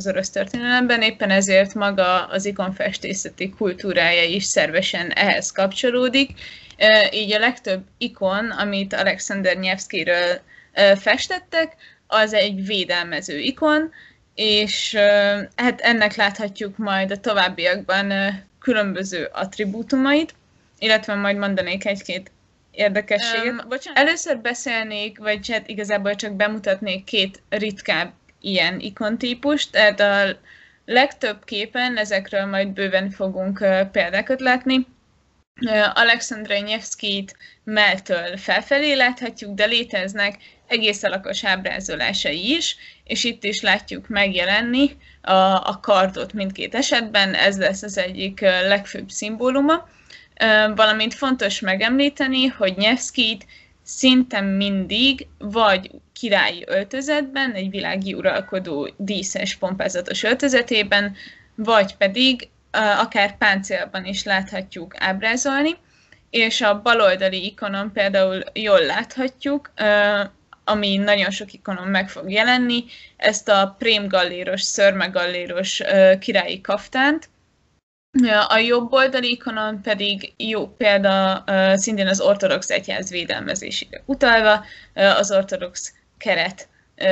éppen ezért maga az ikonfestészeti kultúrája is szervesen ehhez kapcsolódik. Így a legtöbb ikon, amit Alexander Nyevszkijről festettek, az egy védelmező ikon, és hát ennek láthatjuk majd a továbbiakban különböző attribútumait, illetve majd mondanék egy-két érdekességet. Először beszélnék, vagy hát igazából csak bemutatnék két ritkább ilyen ikontípust, tehát a legtöbb képen, ezekről majd bőven fogunk példákat látni. Alexander Nyevszkijt melltől felfelé láthatjuk, de léteznek egész alakos ábrázolásai is, és itt is látjuk megjelenni a kardot mindkét esetben, ez lesz az egyik legfőbb szimbóluma. Valamint fontos megemlíteni, hogy Nyevszkijt szinte mindig vagy királyi öltözetben, egy világi uralkodó díszes, pompázatos öltözetében, vagy pedig akár páncélban is láthatjuk ábrázolni, és a baloldali ikonon például jól láthatjuk, ami nagyon sok ikonon meg fog jelenni, ezt a prémgalléros, szörmegalléros királyi kaftánt. A jobb oldali ikonon pedig jó példa szintén az ortodox egyház védelmezésére utalva, az ortodox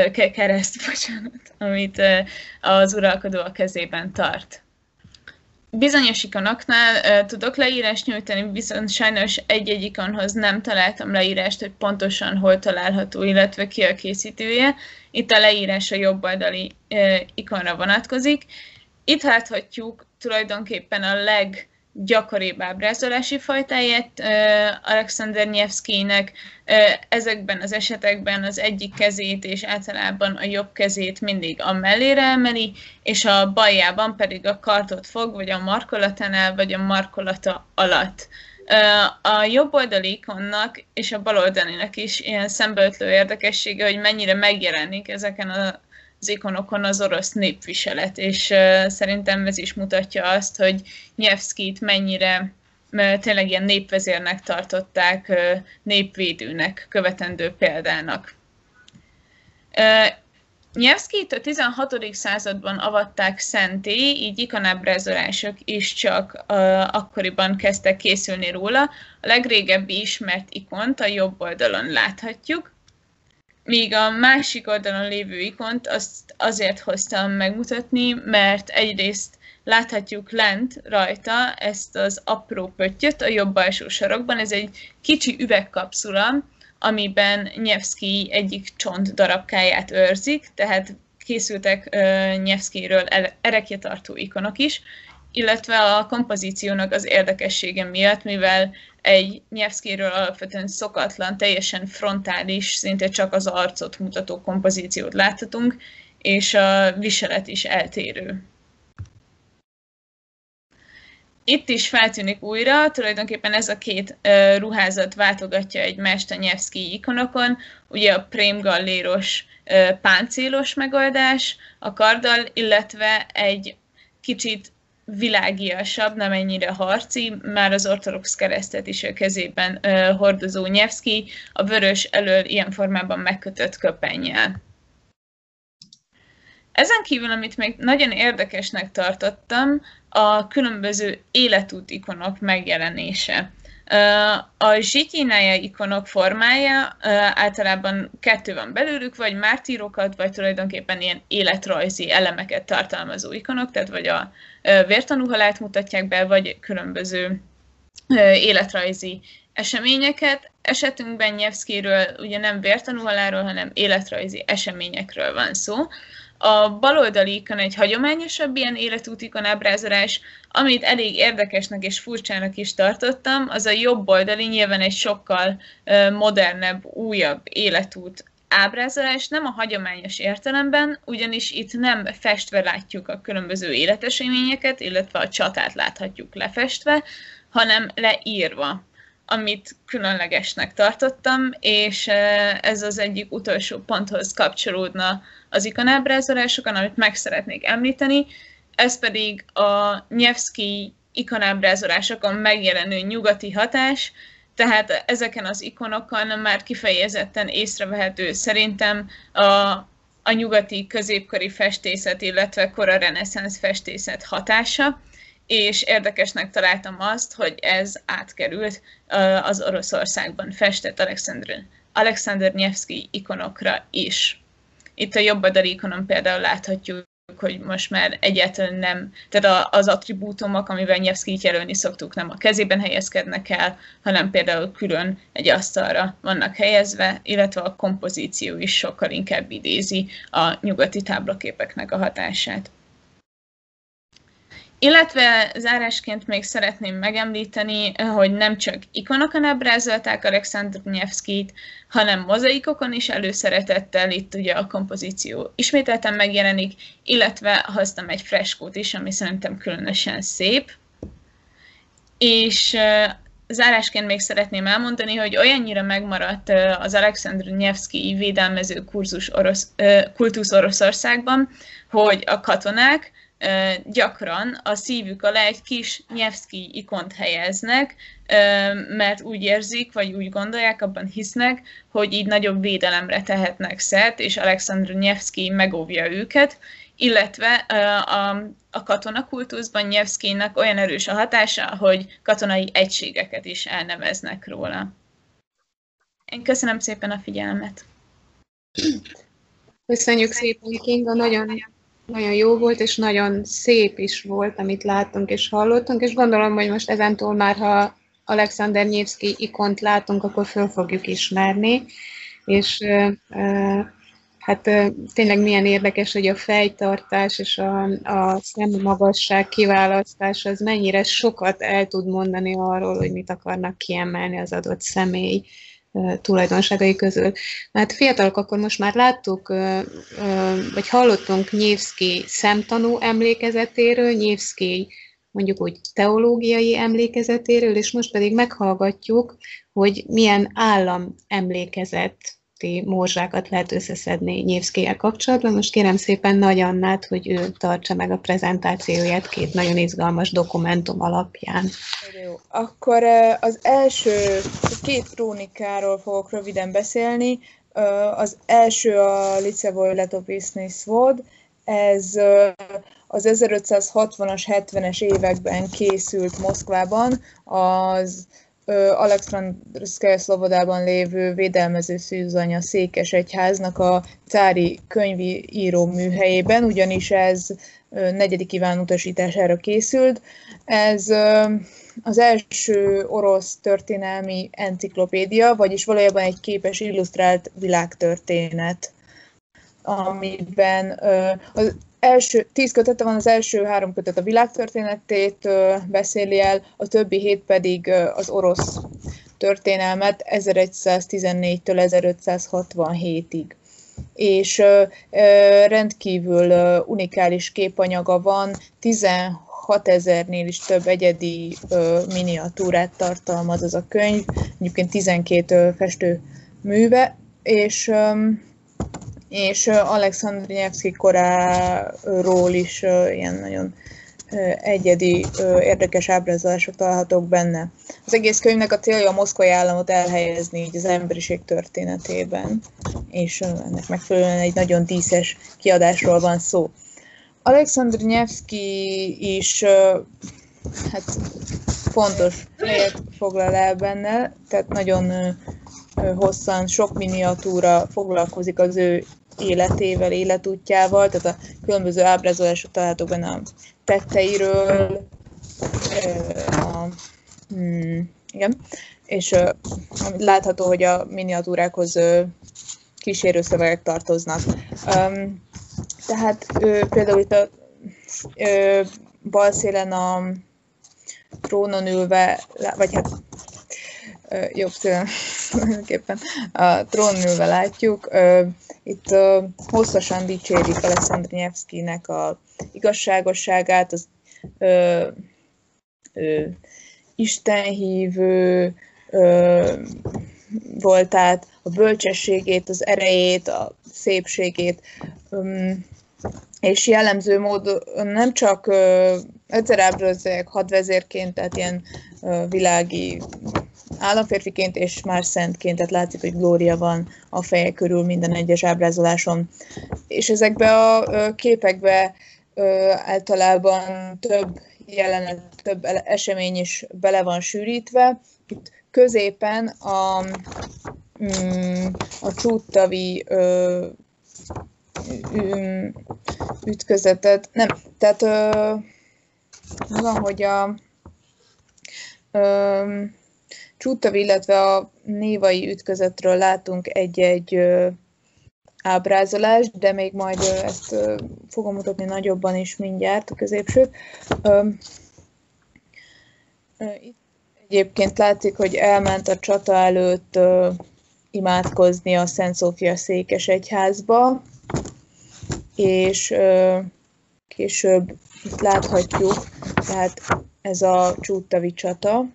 kereszt, amit az uralkodó a kezében tart. Bizonyos ikonoknál tudok leírást nyújtani, viszont sajnos egy-egy ikonhoz nem találtam leírást, hogy pontosan hol található, illetve ki a készítője. Itt a leírás a jobb oldali ikonra vonatkozik. Itt láthatjuk tulajdonképpen a leggyakoribb ábrázolási fajtáját Alexander Nevszkijnek. Ezekben az esetekben az egyik kezét és általában a jobb kezét mindig a mellére emeli, és a baljában pedig a kardot fog, vagy a markolatánál, vagy a markolata alatt. A jobb oldali ikonnak és a bal oldalinak is ilyen szembeötlő érdekessége, hogy mennyire megjelenik ezeken az ikonokon az orosz népviselet, és szerintem ez is mutatja azt, hogy Nevszkijt mennyire tényleg ilyen népvezérnek tartották, népvédőnek, követendő példának. Nevszkijt a 16. században avatták szenté, így ikonábrázolások is csak akkoriban kezdtek készülni róla. A legrégebbi ismert ikont a jobb oldalon láthatjuk, míg a másik oldalon lévő ikont azt azért hoztam megmutatni, mert egyrészt láthatjuk lent rajta ezt az apró pöttyöt a jobb alsó sarokban. Ez egy kicsi üvegkapszula, amiben Nevszkij egyik csont darabkáját őrzik, tehát készültek Nevszkijről erekjetartó ikonok is, illetve a kompozíciónak az érdekessége miatt, mivel egy Nevszkijről alapvetően szokatlan, teljesen frontális, szinte csak az arcot mutató kompozíciót láthatunk, és a viselet is eltérő. Itt is feltűnik újra, tulajdonképpen ez a két ruházat váltogatja egymást a Nevszkij ikonokon, ugye a prémgalléros páncélos megoldás a karddal, illetve egy kicsit világiasabb, nem ennyire harci, már az ortodox keresztet is a kezében hordozó Nevszkij, a vörös elől ilyen formában megkötött köpennyel. Ezen kívül, amit még nagyon érdekesnek tartottam, a különböző életút ikonok megjelenése. A zsityinaja ikonok formája általában kettő van belőlük, vagy mártírokat, vagy tulajdonképpen ilyen életrajzi elemeket tartalmazó ikonok, tehát vagy a vértanúhalált mutatják be, vagy különböző életrajzi eseményeket. Esetünkben Nevszkijről ugye nem vértanúhalálról, hanem életrajzi eseményekről van szó. A baloldali ikon egy hagyományosabb ilyen életút ikonábrázolás, amit elég érdekesnek és furcsának is tartottam, az a jobb oldali nyilván egy sokkal modernebb, újabb életút ábrázolás, nem a hagyományos értelemben, ugyanis itt nem festve látjuk a különböző életeseményeket, illetve a csatát láthatjuk lefestve, hanem leírva, amit különlegesnek tartottam, és ez az egyik utolsó ponthoz kapcsolódna az ikonábrázolásokon, amit meg szeretnék említeni, ez pedig a Nevszkij ikonábrázolásokon megjelenő nyugati hatás, tehát ezeken az ikonokon már kifejezetten észrevehető szerintem a nyugati középkori festészet, illetve kora reneszánsz festészet hatása, és érdekesnek találtam azt, hogy ez átkerült az Oroszországban festett Alexander Nevszkij ikonokra is. Itt a jobb oldali ikonon például láthatjuk, hogy most már egyáltalán nem, tehát az attribútumok, amivel Nevszkijt jelölni szoktuk, nem a kezében helyezkednek el, hanem például külön egy asztalra vannak helyezve, illetve a kompozíció is sokkal inkább idézi a nyugati táblaképeknek a hatását. Illetve zárásként még szeretném megemlíteni, hogy nem csak ikonokon ábrázolták Alexander Nevszkijt, hanem mozaikokon is előszeretettel, itt ugye a kompozíció ismételten megjelenik, illetve hoztam egy freskót is, ami szerintem különösen szép. És zárásként még szeretném elmondani, hogy olyannyira megmaradt az Alexander Nevszkij védelmező kultusz Oroszországban, hogy a katonák gyakran a szívük alá egy kis Nevszkij ikont helyeznek, mert úgy érzik, vagy úgy gondolják, abban hisznek, hogy így nagyobb védelemre tehetnek szert, és Alexander Nevszkij megóvja őket, illetve a katonakultuszban Nevszkijnak olyan erős a hatása, hogy katonai egységeket is elneveznek róla. Én köszönöm szépen a figyelmet. Köszönjük szépen, Kinga, nagyon Nagyon jó volt, és nagyon szép is volt, amit láttunk és hallottunk, és gondolom, hogy most ezentúl már, ha Alexander Nyevszkij ikont látunk, akkor föl fogjuk ismerni, és hát tényleg milyen érdekes, hogy a fejtartás és a szemmagasság kiválasztás az mennyire sokat el tud mondani arról, hogy mit akarnak kiemelni az adott személy tulajdonságai közül. Mert fiatalok, akkor most már láttuk, vagy hallottunk Nyevszkij szemtanú emlékezetéről, Nyevszkij mondjuk úgy teológiai emlékezetéről, és most pedig meghallgatjuk, hogy milyen állam emlékezeti morzsákat lehet összeszedni Nyevszkijjel kapcsolatban. Most kérem szépen Nagy Annát, hogy ő tartsa meg a prezentációját két nagyon izgalmas dokumentum alapján. Jó. Akkor az első két krónikáról fogok röviden beszélni. Az első a Licevoy Letopisny Svod, ez az 1560-as, 70-es években készült Moszkvában, az Alekszandrszkaja Szlobodában lévő védelmező szűzanya székesegyháznak a cári könyvíró műhelyében, ugyanis ez 4. Iván utasítására készült. Ez az első orosz történelmi enciklopédia, vagyis valójában egy képes illusztrált világtörténet, amiben az első 10 kötete van, az első 3 kötet a világtörténetét beszéli el, a többi 7 pedig az orosz történelmet 1114-től 1567-ig. És rendkívül unikális képanyaga van, 16 000-nél is több egyedi miniatúrát tartalmaz az a könyv, egyébként 12 festő műve, és Alexander Nyevszkij koráról is ilyen nagyon egyedi, érdekes ábrázolások találhatók benne. Az egész könyvnek a célja a moszkvai államot elhelyezni így az emberiség történetében, és ennek megfelelően egy nagyon díszes kiadásról van szó. Alexander Nyevszkij is hát fontos helyet foglal el benne, tehát nagyon hosszan sok miniatúra foglalkozik az ő életével, életútjával, tehát a különböző ábrázolások találhatók benne a tetteiről, igen, és látható, hogy a miniatúrákhoz kísérőszövegek tartoznak. Tehát például itt a bal szélen a trónon ülve, vagy hát jobb szélen tulajdonképpen a trónon ülve látjuk. Itt hosszasan dicsérik Alexander Nyevszkijnek a igazságosságát, az istenhívő voltát, a bölcsességét, az erejét, a szépségét, és jellemző módon nem csak egyszer ábrázolják hadvezérként, tehát ilyen világi államférfiként, és már szentként, tehát látszik, hogy glória van a feje körül minden egyes ábrázoláson. És ezekbe a képekbe általában több jelenet, több esemény is bele van sűrítve. Itt középen a csúttavi ütközetet, nem, tehát van, hogy a Csúttavi, illetve a névai ütközetről látunk egy-egy ábrázolást, de még majd ezt fogom mutatni nagyobban is mindjárt, a középsőt. Itt egyébként látszik, hogy elment a csata előtt imádkozni a Szent Szófia székesegyházba, és később itt láthatjuk, tehát ez a csúttavi csata.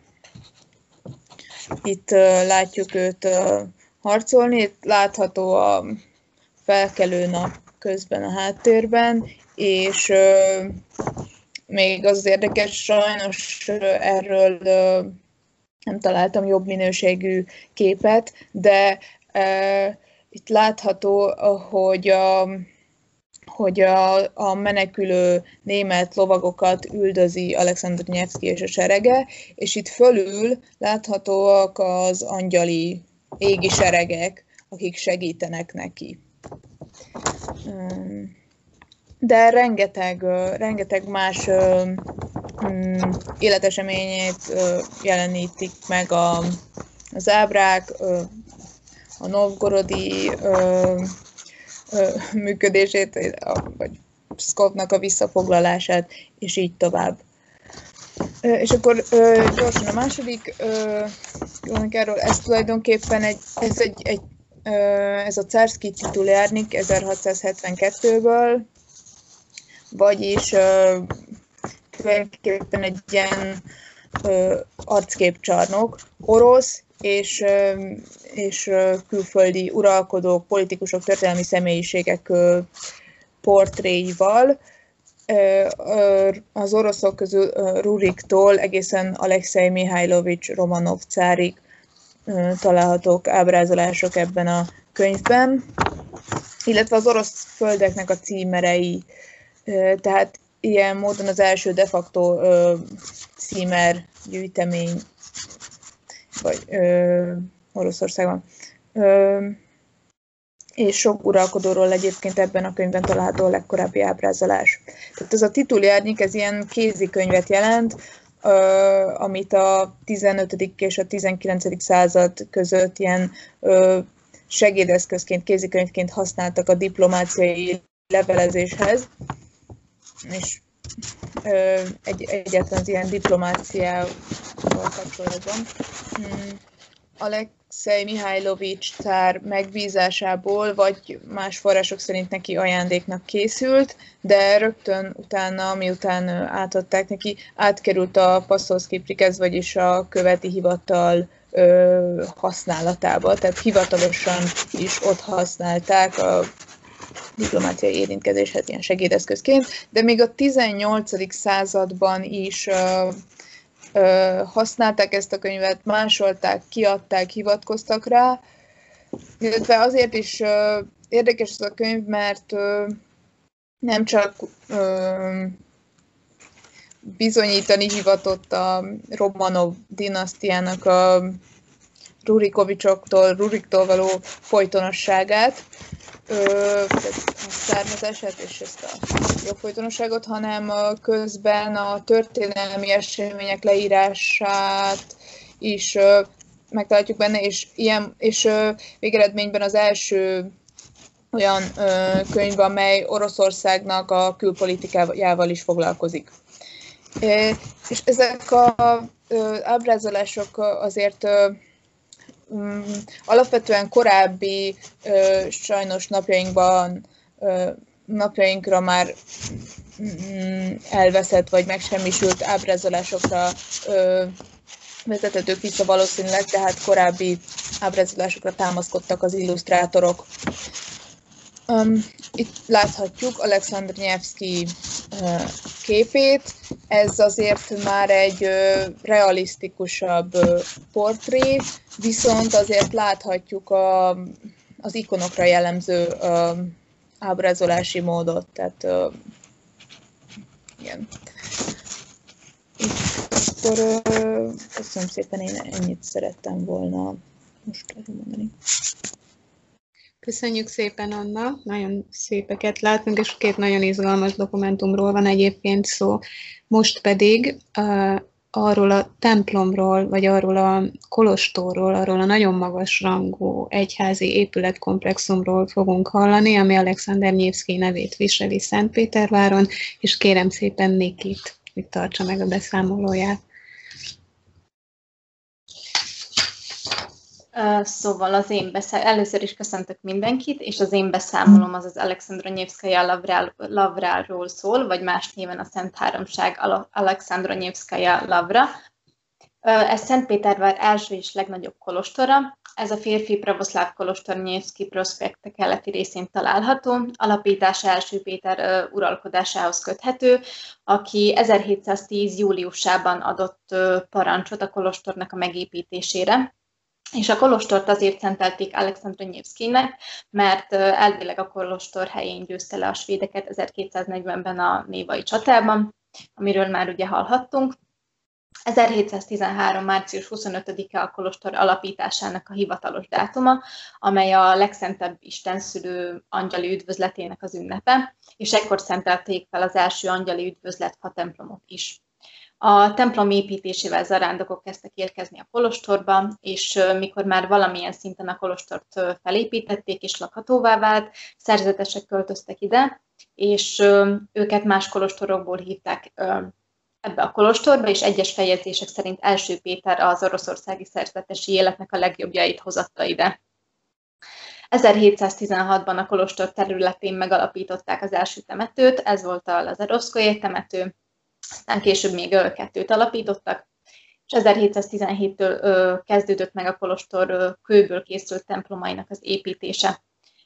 Itt látjuk őt harcolni, itt látható a felkelő nap közben a háttérben, és még az érdekes, sajnos erről nem találtam jobb minőségű képet, de itt látható, hogy a menekülő német lovagokat üldözi Alexander Nyevszkij és a serege, és itt fölül láthatóak az angyali égi seregek, akik segítenek neki. de rengeteg más életeseményét jelenítik meg az ábrák, a novgorodi működését, vagy Pszkovnak a visszafoglalását, és így tovább. És akkor gyorsan a második erről, ez tulajdonképpen ez a Cárszkij titulárnik 1672-ből, vagyis tulajdonképpen egy ilyen arcképcsarnok, orosz és külföldi uralkodók, politikusok, történelmi személyiségek portréival. Az oroszok közül Ruriktól egészen Alekszej Mihajlovics Romanov cárig találhatók ábrázolások ebben a könyvben, illetve az orosz földeknek a címerei. Tehát ilyen módon az első de facto címer gyűjtemény vagy Oroszországban. És sok uralkodóról egyébként ebben a könyvben található a legkorábbi ábrázolás. Tehát ez a titulárnyik, ez ilyen kézikönyvet jelent, amit a 15. és a 19. század között ilyen segédeszközként, kézikönyvként használtak a diplomáciai levelezéshez, és egyáltalán az ilyen diplomáciával kapcsolatban. Alekszej Mihajlovics cár megbízásából, vagy más források szerint neki ajándéknak készült, de rögtön utána, miután átadták neki, átkerült a Passzolszkij prikaz, vagyis a követi hivatal használatába, tehát hivatalosan is ott használták a diplomáciai érintkezéshez ilyen segédeszközként, de még a 18. században is használták ezt a könyvet, másolták, kiadták, hivatkoztak rá, illetve azért is érdekes ez a könyv, mert nem csak bizonyítani hivatott a Romanov dinasztiának a Ruriktól való folytonosságát, a származását és ezt a jogfolytonosságot, hanem közben a történelmi események leírását is megtaláljuk benne, és végeredményben az első olyan könyv, amely Oroszországnak a külpolitikájával is foglalkozik. És ezek az ábrázolások azért alapvetően korábbi, sajnos napjainkra már elveszett vagy megsemmisült ábrázolásokra vezethetők vissza valószínűleg, tehát korábbi ábrázolásokra támaszkodtak az illusztrátorok. Itt láthatjuk Alekszandr Nyevszkij képét, ez azért már egy realisztikusabb portré, viszont azért láthatjuk az ikonokra jellemző ábrázolási módot, tehát igen. Akkor köszönöm szépen, én ennyit szerettem volna most mondani. Köszönjük szépen, Anna, nagyon szépeket látunk, és két nagyon izgalmas dokumentumról van egyébként szó. Most pedig arról a templomról, vagy arról a kolostorról, arról a nagyon magas rangú egyházi épületkomplexumról fogunk hallani, ami Alekszandr Nyevszkij nevét viseli Szentpéterváron, és kérem szépen Nikit, hogy tartsa meg a beszámolóját. Szóval először is köszöntök mindenkit, és az én beszámolom az Alekszandr Nyevszkaja Lavráról szól, vagy más néven a Szent Háromság Alekszandr Nyevszkaja Lavra. Ez Szentpétervár első és legnagyobb kolostora. Ez a férfi pravoszláv kolostor Nyevszkij prospekte keleti részén található. Alapítása első Péter uralkodásához köthető, aki 1710. júliusában adott parancsot a kolostornak a megépítésére. És a kolostort azért szentelték Alekszandr Nyevszkijnek, mert elvileg a kolostor helyén győzte le a svédeket 1240-ben a Névai csatában, amiről már ugye hallhattunk. 1713. március 25-e a kolostor alapításának a hivatalos dátuma, amely a legszentebb istenszülő angyali üdvözletének az ünnepe, és ekkor szentelték fel az első angyali üdvözlet fa templomot is. A templom építésével zarándokok kezdtek érkezni a kolostorba, és mikor már valamilyen szinten a kolostort felépítették és lakhatóvá vált, szerzetesek költöztek ide, és őket más kolostorokból hívták ebbe a kolostorba, és egyes feljegyzések szerint első Péter az oroszországi szerzetesi életnek a legjobbjait hozatta ide. 1716-ban a kolostor területén megalapították az első temetőt, ez volt a Lazarovszkoje temető, aztán később még 2-t alapítottak, és 1717-től kezdődött meg a kolostor kőből készült templomainak az építése.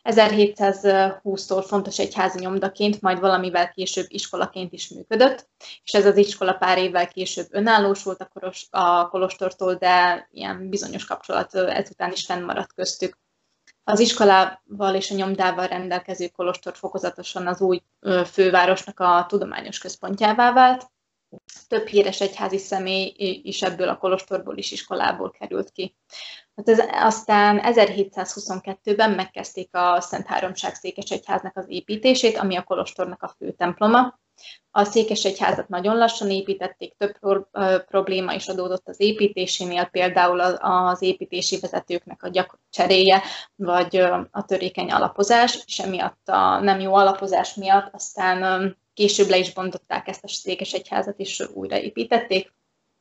1720-tól fontos egyházi nyomdaként, majd valamivel később iskolaként is működött, és ez az iskola pár évvel később önállósult a kolostortól, de ilyen bizonyos kapcsolat ezután is fennmaradt köztük. Az iskolával és a nyomdával rendelkező kolostor fokozatosan az új fővárosnak a tudományos központjává vált. Több híres egyházi személy is ebből a kolostorból is iskolából került ki. Aztán 1722-ben megkezdték a Szent Háromság székesegyháznak az építését, ami a kolostornak a fő temploma. A székesegyházat nagyon lassan építették, több probléma is adódott az építésénél, például az építési vezetőknek a gyakori cseréje, vagy a törékeny alapozás, és emiatt a nem jó alapozás miatt aztán később le is bontották ezt a székesegyházat, és újraépítették.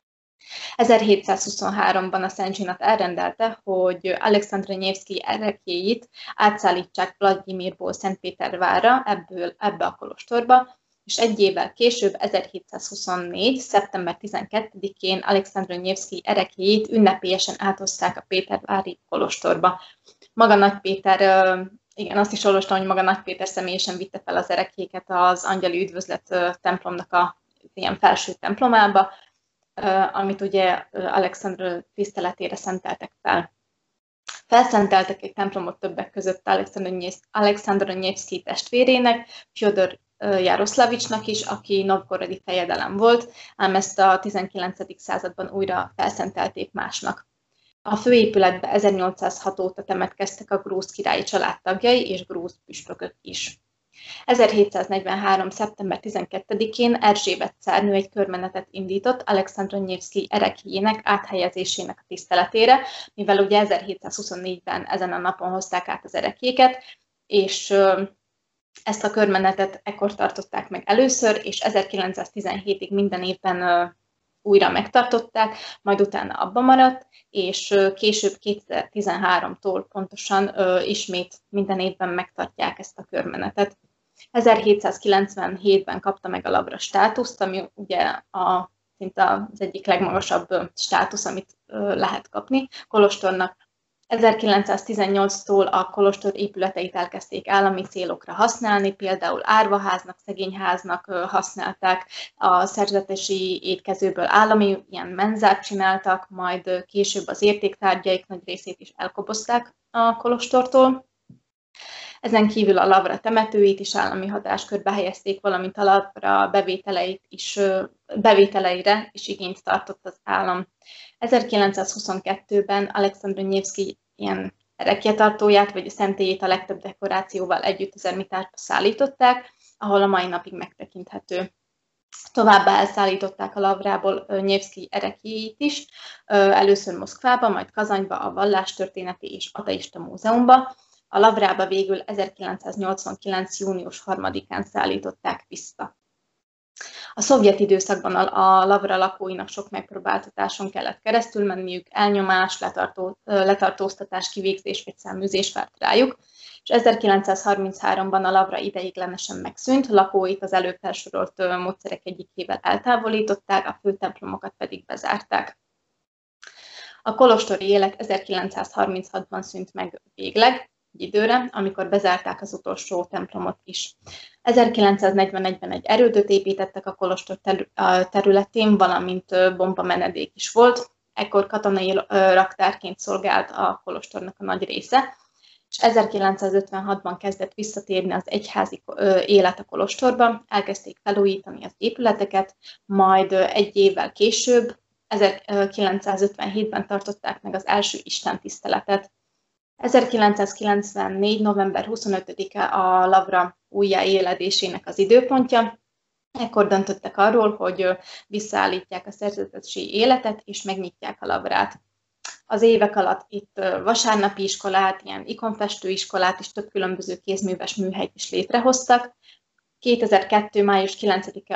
1723-ban a Szent Zsinat elrendelte, hogy Alexandr Nyevszkij ereklyéit átszállítsák Vlagyimirból Szentpétervárra, ebbe a kolostorba, és egy évvel később, 1724. szeptember 12-én Alexandr Nyevszkij ereklyéit ünnepélyesen áthozták a pétervári kolostorba. Maga Nagy Péter, igen, azt is olvastam, hogy maga Nagy Péter személyesen vitte fel az ereklyéket az Angyali Üdvözlet templomnak a ilyen felső templomába, amit ugye Alexandr tiszteletére szenteltek fel. Felszenteltek egy templomot többek között Alexandr Nyevszkij testvérének, Fjodor Jaroszlavicsnak is, aki novgorodi fejedelem volt, ám ezt a 19. században újra felszentelték másnak. A főépületbe 1806 óta temetkeztek a grúz királyi családtagjai és grúz püspökök is. 1743. szeptember 12-én Erzsébet cárnő egy körmenetet indított Alexandr Nyevszkij ereklyének áthelyezésének a tiszteletére, mivel ugye 1724-ben ezen a napon hozták át az ereklyéket, és ezt a körmenetet ekkor tartották meg először, és 1917-ig minden évben újra megtartották, majd utána abba maradt, és később 2013-tól pontosan ismét minden évben megtartják ezt a körmenetet. 1797-ben kapta meg a lavra státuszt, ami ugye szinte az egyik legmagasabb státusz, amit lehet kapni kolostornak. 1918-tól a kolostor épületeit elkezdték állami célokra használni, például árvaháznak, szegényháznak használták, a szerzetesi étkezőből állami ilyen menzát csináltak, majd később az értéktárgyaik nagy részét is elkobozták a kolostortól. Ezen kívül a lavra temetőit is állami hatáskörbe helyezték, valamint a lavra bevételeire is igényt tartott az állam. 1922-ben Alexandr Nyevszkij ilyen erekjetartóját vagy a szentélyét a legtöbb dekorációval együtt az Ermitásba szállították, ahol a mai napig megtekinthető. Továbbá elszállították a lavrából Nyevszkij ereklyéit is, először Moszkvába, majd Kazanyba, a Vallástörténeti és Ateista Múzeumba. A lavrába végül 1989. június 3-án szállították vissza. A szovjet időszakban a lavra lakóinak sok megpróbáltatáson kellett keresztül menniük, elnyomás, letartóztatás, kivégzés vagy száműzés várt rájuk, és 1933-ban a lavra ideiglenesen megszűnt, lakóit az előbb felsorolt módszerek egyikével eltávolították, a főtemplomokat pedig bezárták. A kolostori élet 1936-ban szűnt meg végleg, egy időre, amikor bezárták az utolsó templomot is. 1941-ben egy erődöt építettek a kolostor területén, valamint bombamenedék is volt. Ekkor katonai raktárként szolgált a kolostornak a nagy része, és 1956-ban kezdett visszatérni az egyházi élet a kolostorba, elkezdték felújítani az épületeket, majd egy évvel később, 1957-ben tartották meg az első istentiszteletet. 1994. november 25-e a lavra újjáéledésének az időpontja. Ekkor döntöttek arról, hogy visszaállítják a szerzetesi életet, és megnyitják a lavrát. Az évek alatt itt vasárnapi iskolát, ilyen ikonfestőiskolát és több különböző kézműves műhelyt is létrehoztak. 2002. május 9-én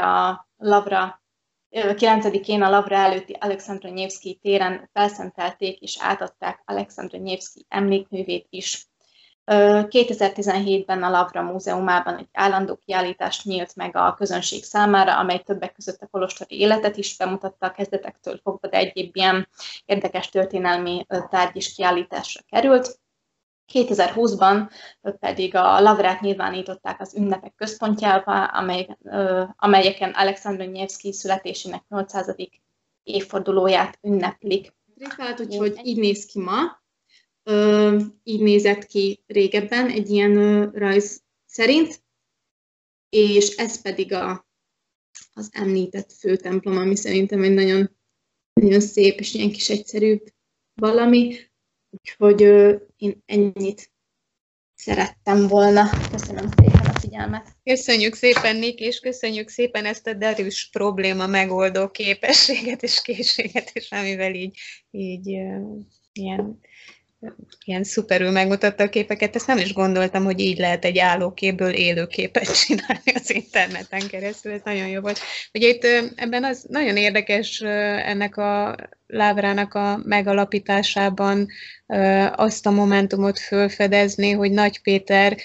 a lavra előtti Alexandra Nevszkij téren felszentelték és átadták Alexandra Nevszkij emlékművét is. 2017-ben a Lavra Múzeumában egy állandó kiállítás nyílt meg a közönség számára, amely többek között a kolostori életet is bemutatta a kezdetektől fogva, de egyéb ilyen érdekes történelmi tárgy is kiállításra került. 2020-ban pedig a Lavrát nyilvánították az ünnepek központjává, amelyeken Alexandra Nevszkij születésének 800. évfordulóját ünneplik. Úgyhogy így néz ki ma. Így nézett ki régebben egy ilyen rajz szerint, és ez pedig az említett főtemplom, ami szerintem egy nagyon, nagyon szép és ilyen kis egyszerű valami, úgyhogy én ennyit szerettem volna. Köszönöm szépen a figyelmet. Köszönjük szépen, Nik, és köszönjük szépen ezt a derűs probléma megoldó képességet és készséget, és amivel így ilyen szuperül megmutatta a képeket. Ezt nem is gondoltam, hogy így lehet egy állóképből élőképet csinálni az interneten keresztül. Ez nagyon jó volt. Ugye itt ebben az nagyon érdekes ennek a Lavrának a megalapításában azt a momentumot felfedezni, hogy Nagy Péter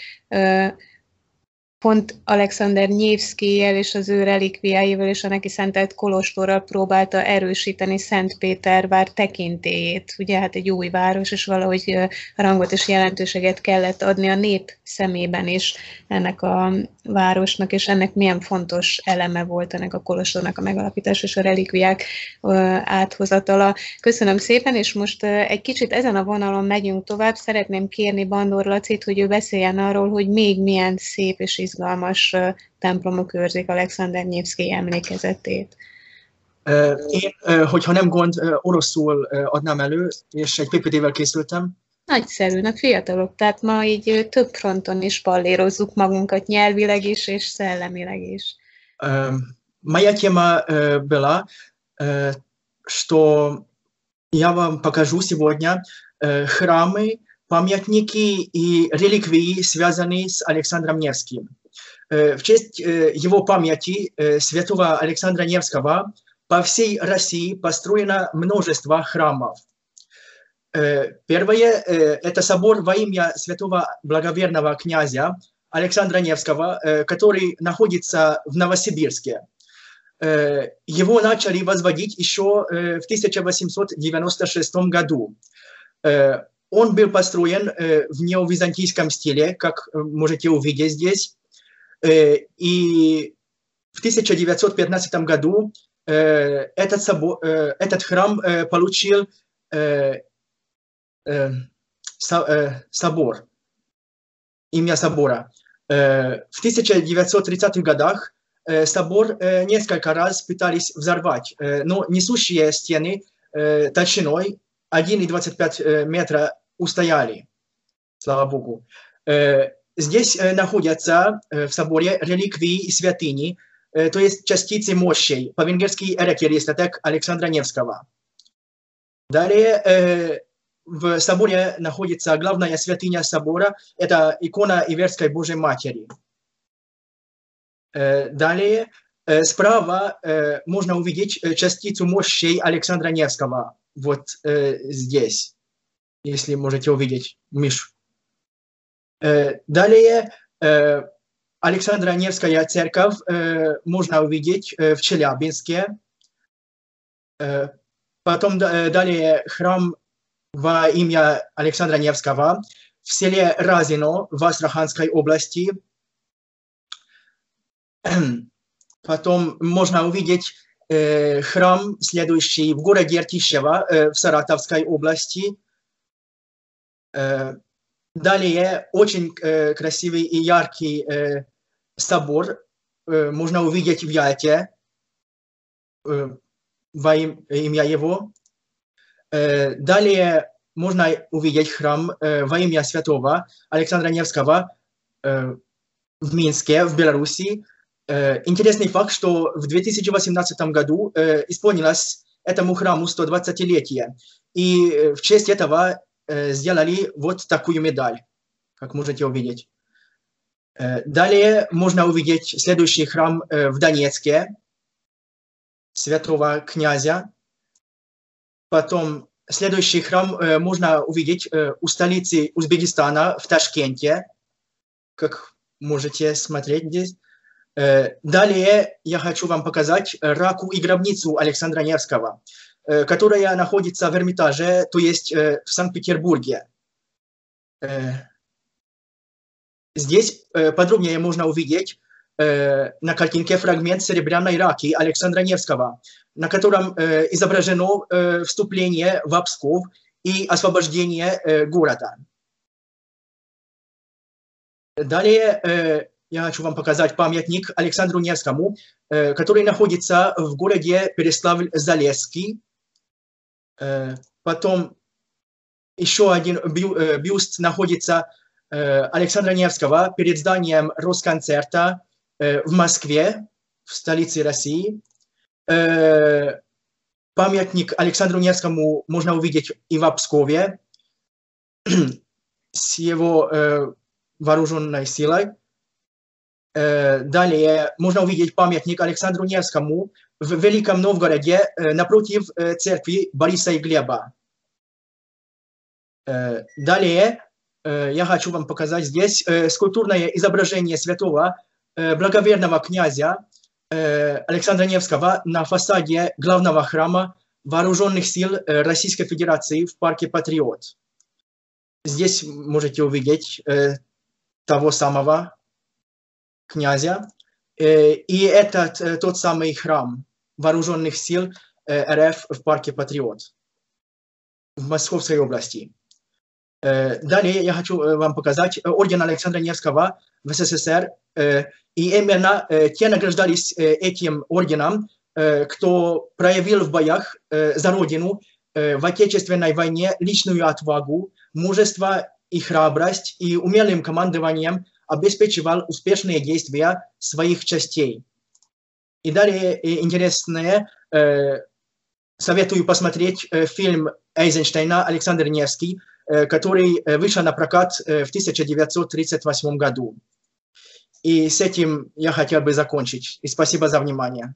pont Alexander Nevszkijjel és az ő relikviáival és a neki szentelt kolostorral próbálta erősíteni Szentpétervár tekintélyét. Ugye hát egy új város, és valahogy rangot és jelentőséget kellett adni a nép szemében is ennek a városnak, és ennek milyen fontos eleme volt ennek a kolostornak a megalapítása és a relikviák áthozatala. Köszönöm szépen, és most egy kicsit ezen a vonalon megyünk tovább. Szeretném kérni Bandor Lacit, hogy ő beszéljen arról, hogy még milyen szép és izgalmas templomok őrzik Alexander Nevszkij emlékezetét. Én, hogyha nem gond, oroszul adnám elő, és egy PPT-vel készültem. Nagyszerű, na fiatalok, tehát ma így több fronton is pallérozzuk magunkat nyelvileg is, és szellemileg is. Моя тема была, что я вам покажу сегодня храмы, памятники и реликвии, связанные с Александром Невским. В честь его памяти святого Александра Невского по всей России построено множество храмов. Первое – это собор во имя святого благоверного князя Александра Невского, который находится в Новосибирске. Его начали возводить еще в 1896 году. Он был построен в неовизантийском стиле, как можете увидеть здесь. И в 1915 году этот храм получил собор, имя собора. В 1930-х годах собор несколько раз пытались взорвать, но несущие стены толщиной 1,25 метра устояли, слава Богу. Здесь находятся в соборе реликвии и святыни, то есть частицы мощей, по-венгерски эрекеристатек Александра Невского. Далее в соборе находится главная святыня собора, это икона Иверской Божьей Матери. Далее справа можно увидеть частицу мощей Александра Невского, вот здесь, если можете увидеть Мишу. Далее Александра Невская церковь можно увидеть в Челябинске. Потом далее храм во имя Александра Невского в селе Разино в Астраханской области. Потом можно увидеть храм, следующий в городе Иртищево в Саратовской области. Далее очень красивый и яркий собор можно увидеть в Ялте. имя его. Далее можно увидеть храм во имя святого Александра Невского в Минске, в Беларуси. Интересный факт, что в 2018 году исполнилось этому храму 120-летие. И в честь этого сделали вот такую медаль, как можете увидеть. Далее можно увидеть следующий храм в Донецке, святого князя. Потом следующий храм можно увидеть у столицы Узбекистана в Ташкенте, как можете смотреть здесь. Далее я хочу вам показать раку и гробницу Александра Невского, которая находится в Эрмитаже, то есть в Санкт-Петербурге. Здесь подробнее можно увидеть на картинке фрагмент серебряной раки Александра Невского, на котором изображено вступление в Псков и освобождение города. Далее я хочу вам показать памятник Александру Невскому, который находится в городе Переславль-Залесский. Потом еще один бюст находится Александра Невского перед зданием Росконцерта в Москве, в столице России. Памятник Александру Невскому можно увидеть и в Пскове с его вооруженной силой. Далее можно увидеть памятник Александру Невскому в Великом Новгороде напротив церкви Бориса и Глеба. Далее я хочу вам показать здесь скульптурное изображение святого благоверного князя Александра Невского на фасаде главного храма Вооруженных сил Российской Федерации в парке Патриот. Здесь можете увидеть того самого князя. И это тот самый храм Вооруженных сил РФ в парке Патриот в Московской области. Далее я хочу вам показать орден Александра Невского в СССР. И именно те награждались этим орденом, кто проявил в боях за Родину в Отечественной войне личную отвагу, мужество и храбрость, и умелым командованием обеспечивал успешные действия своих частей. И далее интересное, советую посмотреть фильм Эйзенштейна «Александр Невский», который вышел на прокат в 1938 году. И с этим я хотел бы закончить. И спасибо за внимание.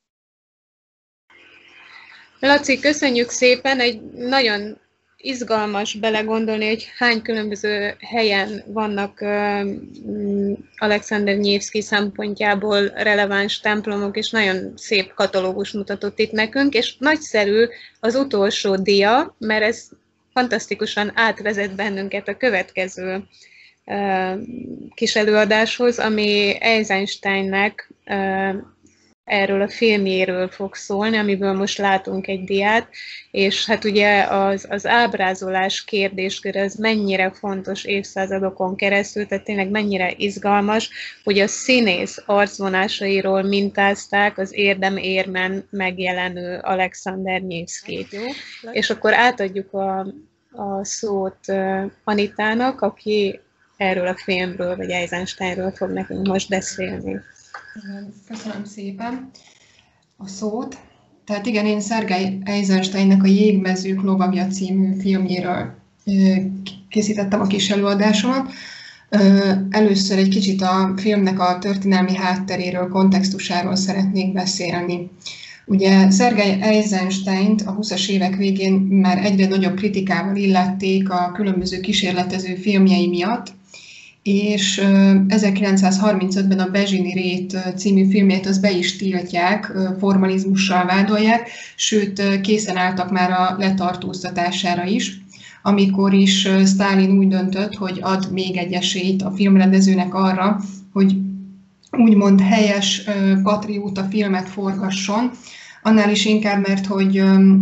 Laci, köszönjük szépen, egy nagyon izgalmas belegondolni, hogy hány különböző helyen vannak Alexander Nyevszky szempontjából releváns templomok, és nagyon szép katalógus mutatott itt nekünk, és nagyszerű az utolsó dia, mert ez fantasztikusan átvezet bennünket a következő kis előadáshoz, ami Eisensteinnek erről a filmjéről fog szólni, amiből most látunk egy diát, és hát ugye az ábrázolás kérdéskör ez mennyire fontos évszázadokon keresztül, tehát tényleg mennyire izgalmas, hogy a színész arcvonásairól mintázták az érdem-érmen megjelenő Alexander Nyevszkyt. És akkor átadjuk a szót Anitának, aki erről a filmről, vagy Eisensteinről fog nekünk most beszélni. Köszönöm szépen a szót. Tehát igen, én Szergej Eisensteinnek a Jégmezők lovagja című filmjéről készítettem a kis előadásomat. Először egy kicsit a filmnek a történelmi hátteréről, kontextusáról szeretnék beszélni. Ugye Szergej Eisensteint a 20-as évek végén már egyre nagyobb kritikával illették a különböző kísérletező filmjei miatt, és 1935-ben a Bezsini Rét című filmjét az be is tiltják, formalizmussal vádolják, sőt készen álltak már a letartóztatására is, amikor is Sztálin úgy döntött, hogy ad még egy esélyt a filmrendezőnek arra, hogy úgymond helyes patrióta filmet forgasson, annál is inkább, mert hogy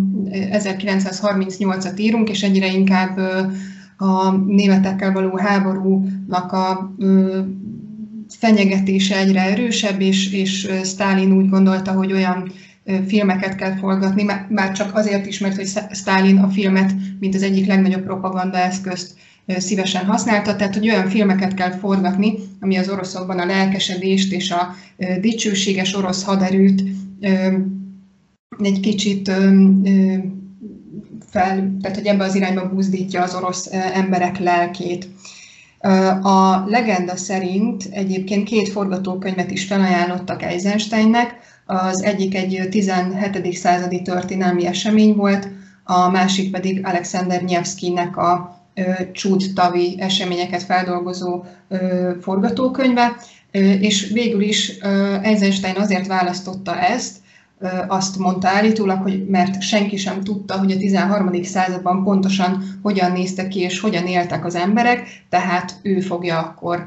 1938-at írunk, és egyre inkább a németekkel való háborúnak a fenyegetése egyre erősebb, és Sztálin úgy gondolta, hogy olyan filmeket kell forgatni, már csak azért is, mert hogy Sztálin a filmet, mint az egyik legnagyobb propagandaeszközt szívesen használta, tehát hogy olyan filmeket kell forgatni, ami az oroszokban a lelkesedést és a dicsőséges orosz haderőt egy kicsit tehát hogy ebbe az irányba buzdítja az orosz emberek lelkét. A legenda szerint egyébként 2 forgatókönyvet is felajánlottak Eisensteinnek, az egyik egy 17. századi történelmi esemény volt, a másik pedig Alexander Nyevszkijnek a Csúd-tavi eseményeket feldolgozó forgatókönyve, és végül is Eisenstein azért választotta ezt, azt mondta állítólag, hogy mert senki sem tudta, hogy a 13. században pontosan hogyan néztek ki és hogyan éltek az emberek, tehát ő fogja akkor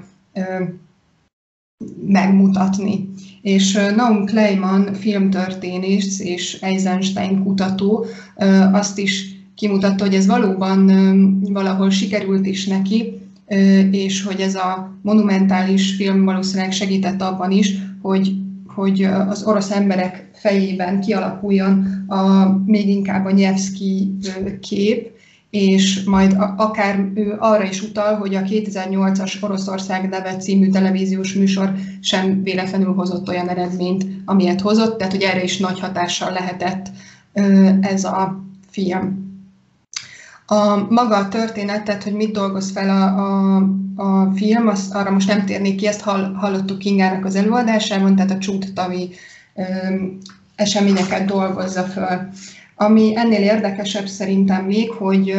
megmutatni. És Naum Kleiman filmtörténész és Eisenstein kutató azt is kimutatta, hogy ez valóban valahol sikerült is neki, és hogy ez a monumentális film valószínűleg segített abban is, hogy az orosz emberek fejében kialakuljon még inkább a Nyevszkij kép, és majd akár ő arra is utal, hogy a 2008-as Oroszország neve című televíziós műsor sem véletlenül hozott olyan eredményt, amilyet hozott, tehát hogy erre is nagy hatással lehetett ez a film. Maga a történet, tehát hogy mit dolgoz fel a film, arra most nem térnék ki, ezt hallottuk Kingának az előadásában, tehát a Csúd-tavi eseményeket dolgozza föl. Ami ennél érdekesebb szerintem még,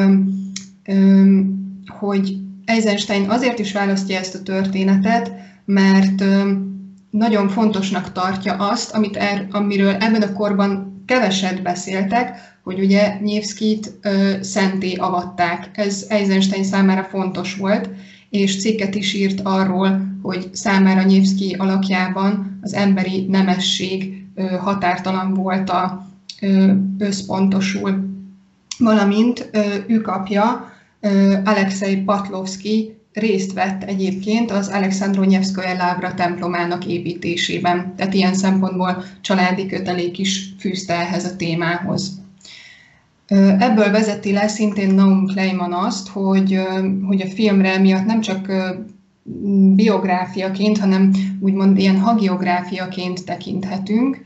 hogy Eisenstein azért is választja ezt a történetet, mert nagyon fontosnak tartja azt, amiről ebben a korban keveset beszéltek, hogy ugye Nyevszkijt szentté avatták. Ez Eisenstein számára fontos volt, és cikket is írt arról, hogy számára Nyevszkij alakjában az emberi nemesség határtalan volt összpontosul. Valamint ő apja, Alexei Patlovszkij részt vett egyébként az Alekszandró-Nyevszkaja Lávra templomának építésében. Tehát ilyen szempontból családi kötelék is fűzte ehhez a témához. Ebből vezeti le szintén Naum Kleiman azt, hogy a filmre miatt nem csak biográfiaként, hanem úgymond ilyen hagiográfiaként tekinthetünk,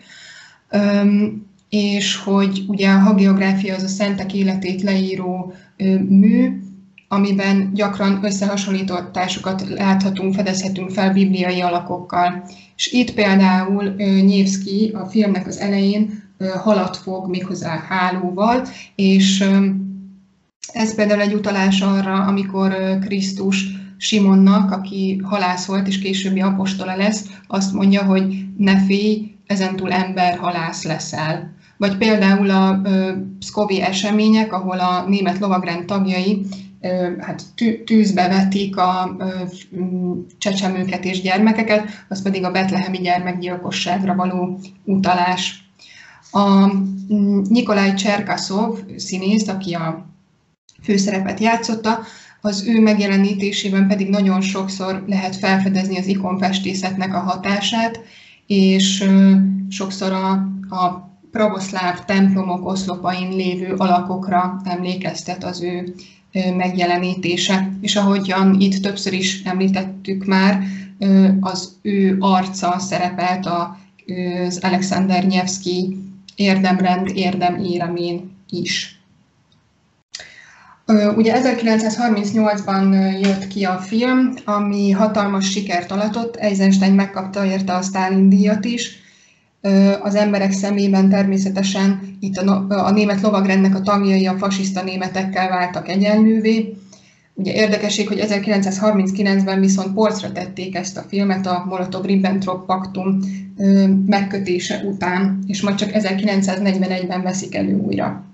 és hogy ugye a hagiográfia az a szentek életét leíró mű, amiben gyakran összehasonlításokat láthatunk, fedezhetünk fel bibliai alakokkal. És itt például Nyevszkij a filmnek az elején halat fog méghozzá hálóval, és ez például egy utalás arra, amikor Krisztus Simonnak, aki halász volt és későbbi apostola lesz, azt mondja, hogy ne félj, ezentúl emberhalász leszel. Vagy például a pszkovi események, ahol a német lovagrend tagjai tűzbe vetik a csecsemőket és gyermekeket, az pedig a betlehemi gyermekgyilkosságra való utalás. A Nikolaj Cserkaszov színész, aki a főszerepet játszotta, az ő megjelenítésében pedig nagyon sokszor lehet felfedezni az ikonfestészetnek a hatását, és sokszor a pravoszláv templomok oszlopain lévő alakokra emlékeztet az ő megjelenítése. És ahogyan itt többször is említettük már, az ő arca szerepelt az Alexander Nyevszkij érdemrend érdeméremén is. Ugye 1938-ban jött ki a film, ami hatalmas sikert aratott, Eisenstein megkapta érte a Sztálin-díjat is. Az emberek szemében természetesen itt a német lovagrendnek a tagjai a fasiszta németekkel váltak egyenlővé. Ugye érdekesség, hogy 1939-ben viszont polcra tették ezt a filmet a Molotov-Ribbentrop paktum megkötése után, és majd csak 1941-ben veszik elő újra.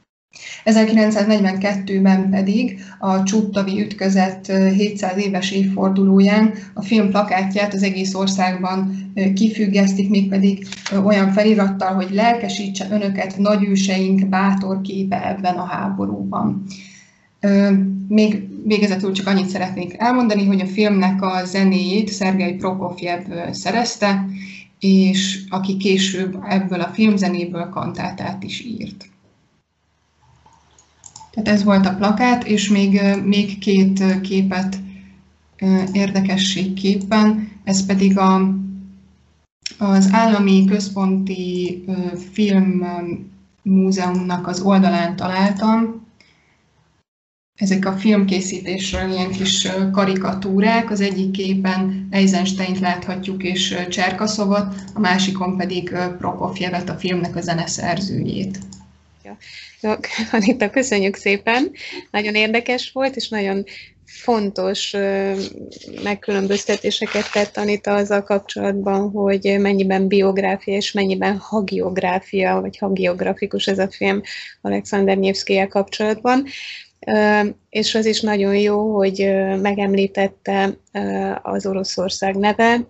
1942-ben pedig a Csúd-tavi ütközet 700 éves évfordulóján a film plakátját az egész országban kifüggesztik, mégpedig olyan felirattal, hogy lelkesítse önöket nagyőseink bátor képe ebben a háborúban. Még végezetül csak annyit szeretnék elmondani, hogy a filmnek a zenéjét Szergej Prokofjev szerezte, és aki később ebből a filmzenéből kantátát is írt. Tehát ez volt a plakát, és még két képet érdekességképpen, ez pedig az Állami Központi Filmmúzeumnak az oldalán találtam. Ezek a filmkészítésről ilyen kis karikatúrák, az egyik képen Eisensteint láthatjuk és Cserkaszovot, a másikon pedig Prokofjevet, a filmnek a zeneszerzőjét. Ja, Anita, köszönjük szépen, nagyon érdekes volt, és nagyon fontos megkülönböztetéseket tett Anita azzal kapcsolatban, hogy mennyiben biográfia és mennyiben hagiográfia, vagy hagiografikus ez a film Alexander Nyevszkijjel kapcsolatban. És az is nagyon jó, hogy megemlítette az Oroszország neve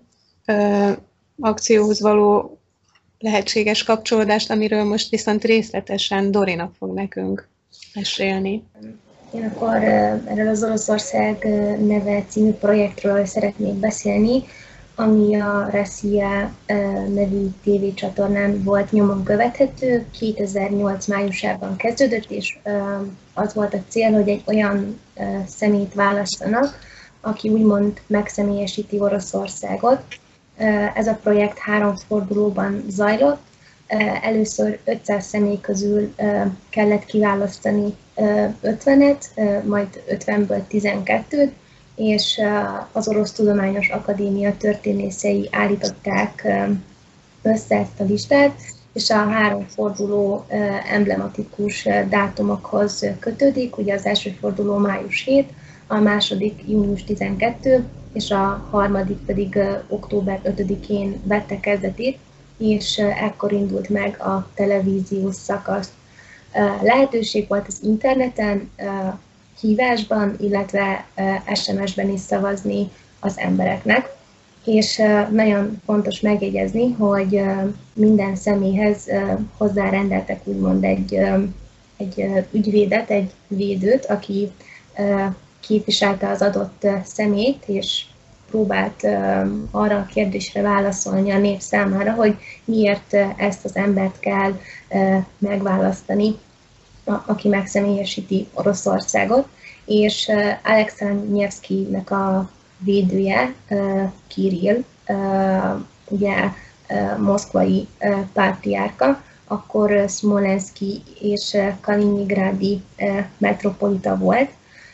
akcióhoz való lehetséges kapcsolódást, amiről most viszont részletesen Dorina fog nekünk mesélni. Én akkor erről az Oroszország neve című projektről szeretnék beszélni, ami a Rossija nevű tévécsatornán volt nyomon követhető, 2008 májusában kezdődött, és az volt a cél, hogy egy olyan személyt választanak, aki úgymond megszemélyesíti Oroszországot. Ez a projekt 3 fordulóban zajlott. Először 500 személy közül kellett kiválasztani 50-et, majd 50-ből 12-t, és az Orosz Tudományos Akadémia történészei állították össze ezt a listát, és a 3 forduló emblematikus dátumokhoz kötődik. Ugye az első forduló május 7, a második június 12, és a harmadik pedig október 5-én vette kezdetét, és ekkor indult meg a televíziós szakasz. Lehetőség volt az interneten, hívásban, illetve SMS-ben is szavazni az embereknek. És nagyon fontos megjegyezni, hogy minden személyhez hozzárendeltek úgymond egy ügyvédet, egy védőt, aki képviselte az adott személyt, és próbált arra a kérdésre válaszolni a nép számára, hogy miért ezt az embert kell megválasztani, aki megszemélyesíti Oroszországot, és Alexander Nyevszkijnek a védője, Kirill, ugye moszkvai pátriárka, akkor Szmolenszki és Kaliningrádi metropolita volt.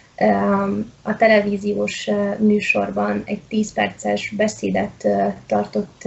A televíziós műsorban egy 10 perces beszédet tartott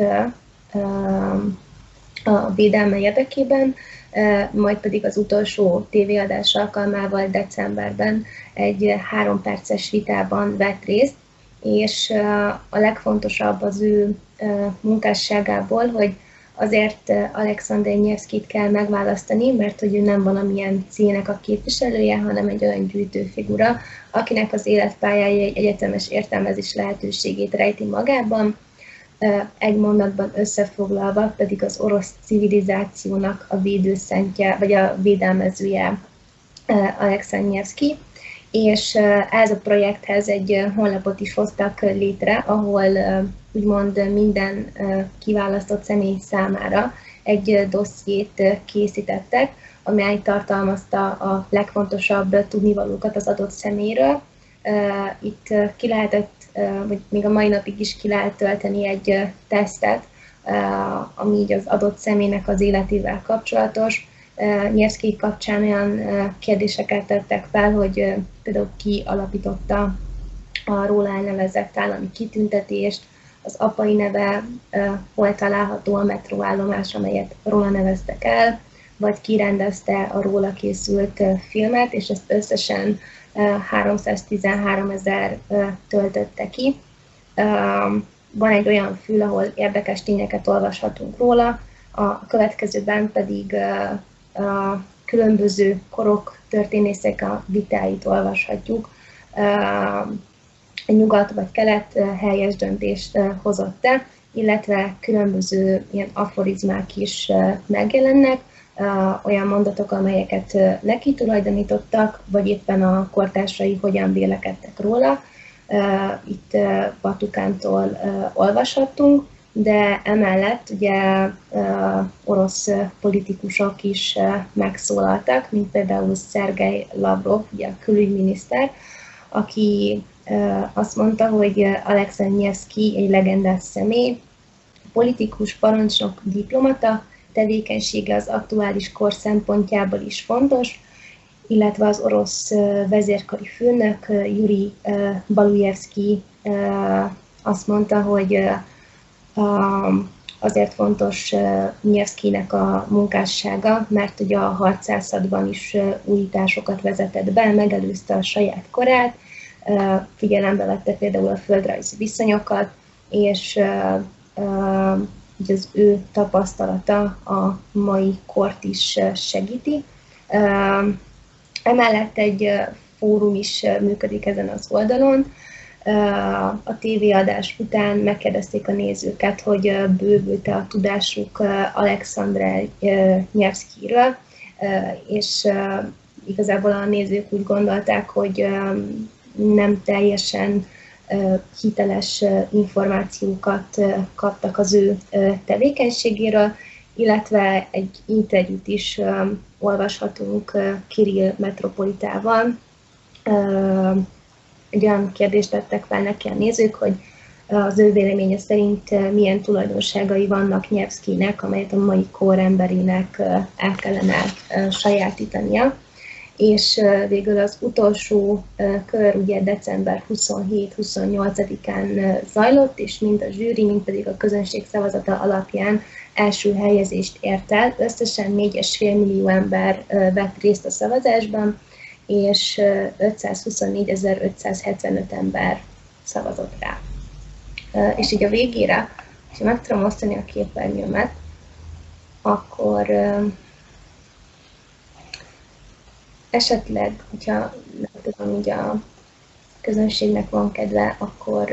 a védelme érdekében, majd pedig az utolsó tévéadás alkalmával decemberben egy 3 perces vitában vett részt, és a legfontosabb az ő munkásságából, hogy azért Alexander Nyevszkijt kell megválasztani, mert hogy ő nem valamilyen cégnek a képviselője, hanem egy olyan gyűjtőfigura, akinek az életpályája egy egyetemes értelmezés lehetőségét rejti magában. Egy mondatban összefoglalva pedig az orosz civilizációnak a védőszentje, vagy a védelmezője Alexander Nyevszkij, és ez a projekthez egy honlapot is hoztak létre, ahol úgymond minden kiválasztott személy számára egy dossziét készítettek, amely tartalmazta a legfontosabb tudnivalókat az adott személyről. Itt ki lehetett, vagy még a mai napig is ki lehet tölteni egy tesztet, ami így az adott személynek az életével kapcsolatos. Nyevszkij kapcsán olyan kérdéseket tettek fel, hogy például ki alapította a róla elnevezett állami kitüntetést, az apai neve, hol található a metróállomás, amelyet róla neveztek el, vagy ki rendezte a róla készült filmet, és ezt összesen 313 000 töltötte ki. Van egy olyan fül, ahol érdekes tényeket olvashatunk róla, a következőben pedig a különböző korok történészek a vitáit olvashatjuk. Nyugat vagy kelet helyes döntést hozott-e, illetve különböző ilyen aforizmák is megjelennek, olyan mondatok, amelyeket neki tulajdonítottak, vagy éppen a kortársai hogyan vélekedtek róla. Itt Batukántól olvashattunk, de emellett ugye orosz politikusok is megszólaltak, mint például Szergej Lavrov, ugye a külügyminiszter, aki azt mondta, hogy Alexei Nevszkij egy legendás személy, politikus, parancsnok, diplomata, tevékenysége az aktuális kor szempontjából is fontos, illetve az orosz vezérkari főnök Jurij Balujevszkij azt mondta, hogy azért fontos Nevszkijnek a munkássága, mert ugye a harcászatban is újításokat vezetett be, megelőzte a saját korát, figyelembe vette például a földrajzi viszonyokat, és az ő tapasztalata a mai kort is segíti. Emellett egy fórum is működik ezen az oldalon. A tévéadás után megkérdezték a nézőket, hogy bővült-e a tudásuk Alexandr Nevszkijről, és igazából a nézők úgy gondolták, hogy nem teljesen hiteles információkat kaptak az ő tevékenységéről, illetve egy interjút is olvashatunk Kirill Metropolitával. Egy olyan kérdést tettek fel neki a nézők, hogy az ő véleménye szerint milyen tulajdonságai vannak Nevszkijnek, amelyet a mai kor emberének el kellene sajátítania. És végül az utolsó kör ugye december 27-28-án zajlott, és mind a zsűri, mind pedig a közönség szavazata alapján első helyezést ért el. Összesen 4,5 millió ember vett részt a szavazásban, és 524.575 ember szavazott rá. És így a végére, ha meg tudom osztani a képernyőmet, akkor esetleg, hogyha nem tudom, így a közönségnek van kedve, akkor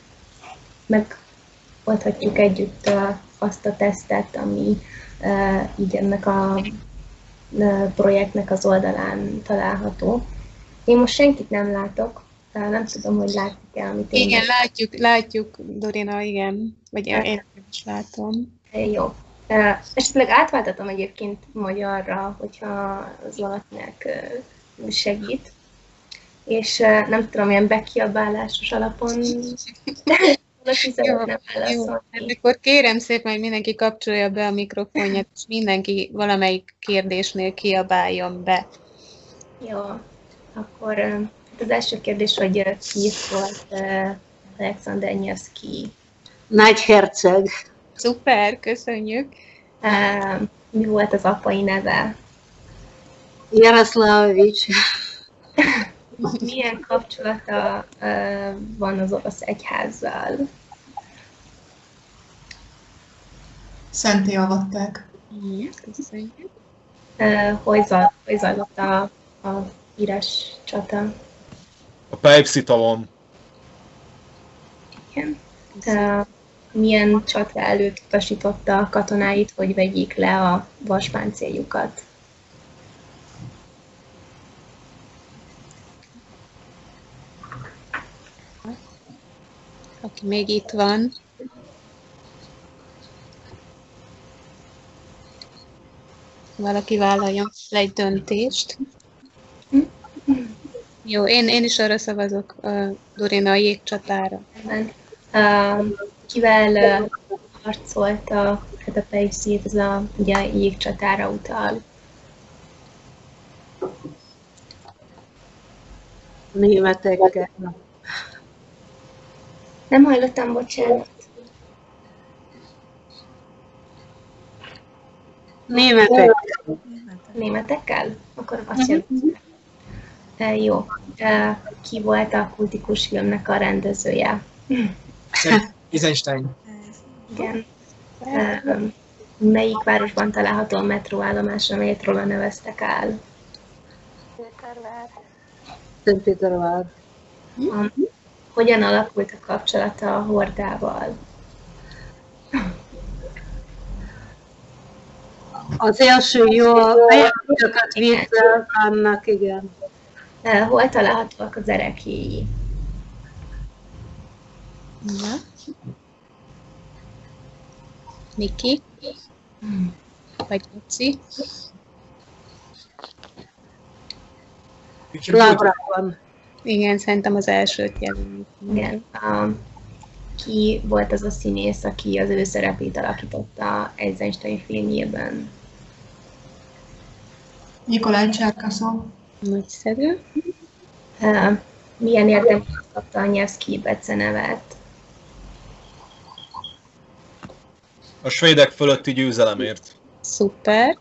megoldhatjuk együtt azt a tesztet, ami így ennek a projektnek az oldalán található. Én most senkit nem látok, nem tudom, hogy látjuk-e, amit én... Igen, látjuk, Dorina, igen. Vagy én is látom. Jó. Esetleg átváltatom egyébként magyarra, hogyha az valakinek segít. És nem tudom, ilyen bekiabálásos alapon valaki szeretne válaszolni. Akkor kérem szépen, hogy mindenki kapcsolja be a mikrofonját, és mindenki valamelyik kérdésnél kiabáljon be. Jó, akkor az első kérdés, hogy ki volt Alexander Nevszkij? Nagyherceg. Szuper, köszönjük. Mi volt az apai neve? Jaroszlávics. Milyen kapcsolata van az orosz egyházzal? Szenté avatták. Köszönjük. Hogy zajlott a híres csata? A Pejpszitalon. Igen. Milyen csata előtt utasította a katonáit, hogy vegyék le a vaspáncéljukat? Aki még itt van. Valaki vállaljon le egy döntést. Jó, én is arra szavazok, Dorina, a jégcsatára. Kivel harcolt a Pejpszit, ez ugye a jégcsatára utal? Németekkel. Nem hallottam, bocsánat. Németekkel. Németekkel? Akkor azt jelenti. Jó. Ki volt a kultikus filmnek a rendezője? Eisenstein. Igen. Melyik városban található a metróállomás, amelyet róla neveztek el? Szentpétervár. Hogyan alakult a kapcsolata a hordával? Az első jó fejezeteket vissza annak, igen. Hol találhatóak az ereklyéi? Miki? Vagy Luci? Laura van. Igen, szerintem az elsőt jelöljük. Igen. Ki volt az a színész, aki az ő szerepét alakította Eisenstein filmjében? Nikolaj Cserkaszov. Nagyszerű. Milyen érdemben kapta a Nyevszkij becenevet? A svédek fölötti győzelemért. Szuper.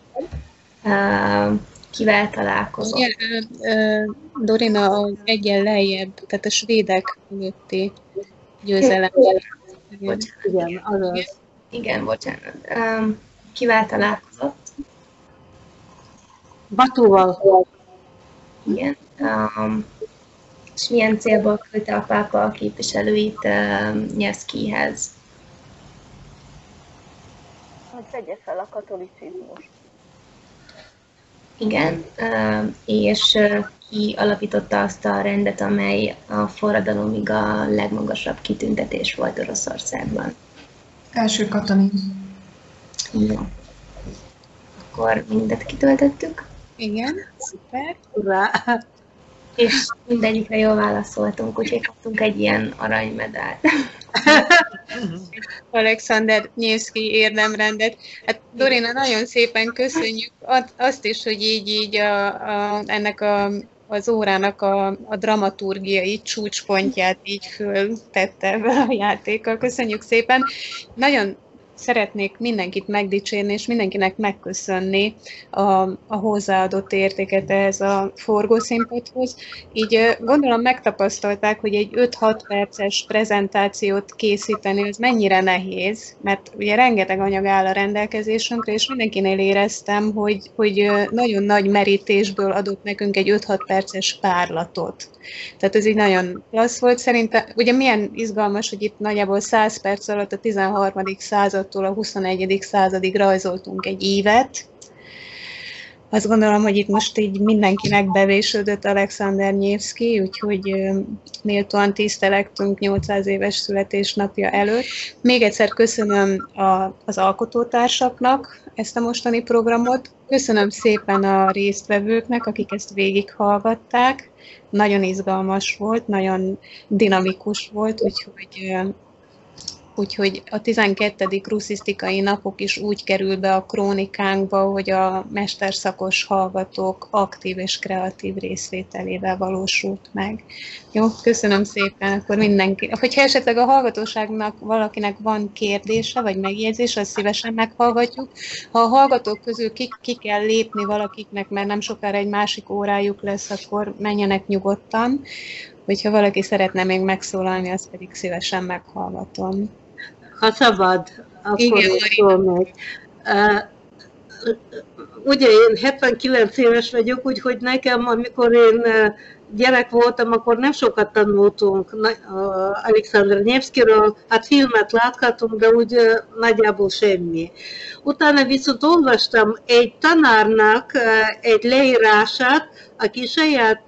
Kivel találkozott? Ugye, Dorina egyen lejjebb, tehát a svédek fölötti győzelem. Igen, azaz. Igen, bocsánat. Kivel találkozott? Batúval. Igen. És milyen célból küldte a pápa a képviselőit Nyevszkijhez? Hogy vegye fel a katolicizmust. Igen, és ki alapította azt a rendet, amely a forradalomig a legmagasabb kitüntetés volt Oroszországban? Első Katalin. Igen. Akkor mindet kitöltöttük. Igen, szuper. Urrá! És mindegyikre jól válaszoltunk, úgyhogy kaptunk egy ilyen aranymedált. Alexander Nyevszkij érdemrendet. Hát Dorina, nagyon szépen köszönjük azt is, hogy így ennek az órának a dramaturgiai csúcspontját így föltette be a játékkal. Köszönjük szépen. Nagyon szeretnék mindenkit megdicsérni, és mindenkinek megköszönni a hozzáadott értéket ehhez a forgószínpadhoz. Így gondolom megtapasztalták, hogy egy 5-6 perces prezentációt készíteni, az mennyire nehéz, mert ugye rengeteg anyag áll a rendelkezésünkre, és mindenkinél éreztem, hogy nagyon nagy merítésből adott nekünk egy 5-6 perces párlatot. Tehát ez így nagyon klassz volt. Szerintem, ugye milyen izgalmas, hogy itt nagyjából 100 perc alatt a 13. századtól a 21. századig rajzoltunk egy évet. Azt gondolom, hogy itt most így mindenkinek bevésődött Alexander Nyevszkij, úgyhogy méltóan tisztelektünk 800 éves születésnapja előtt. Még egyszer köszönöm az alkotótársaknak ezt a mostani programot. Köszönöm szépen a résztvevőknek, akik ezt végighallgatták. Nagyon izgalmas volt, nagyon dinamikus volt, úgyhogy a 12. russzisztikai napok is úgy kerül be a krónikánkba, hogy a mesterszakos hallgatók aktív és kreatív részvételével valósult meg. Jó, köszönöm szépen, akkor mindenki. Hogyha esetleg a hallgatóságnak valakinek van kérdése vagy megjegyzése, azt szívesen meghallgatjuk. Ha a hallgatók közül ki kell lépni valakiknek, mert nem sokára egy másik órájuk lesz, akkor menjenek nyugodtan. Hogyha valaki szeretne még megszólalni, azt pedig szívesen meghallgatom. Ha szabad, akkor igen, szólnék. Ugye én 79 éves vagyok, úgyhogy nekem, amikor én gyerek voltam, akkor nem sokat tanultunk Alexander Nyevszkijről, hát filmet láthatunk, de úgy nagyjából semmi. Utána viszont olvastam egy tanárnak egy leírását, aki saját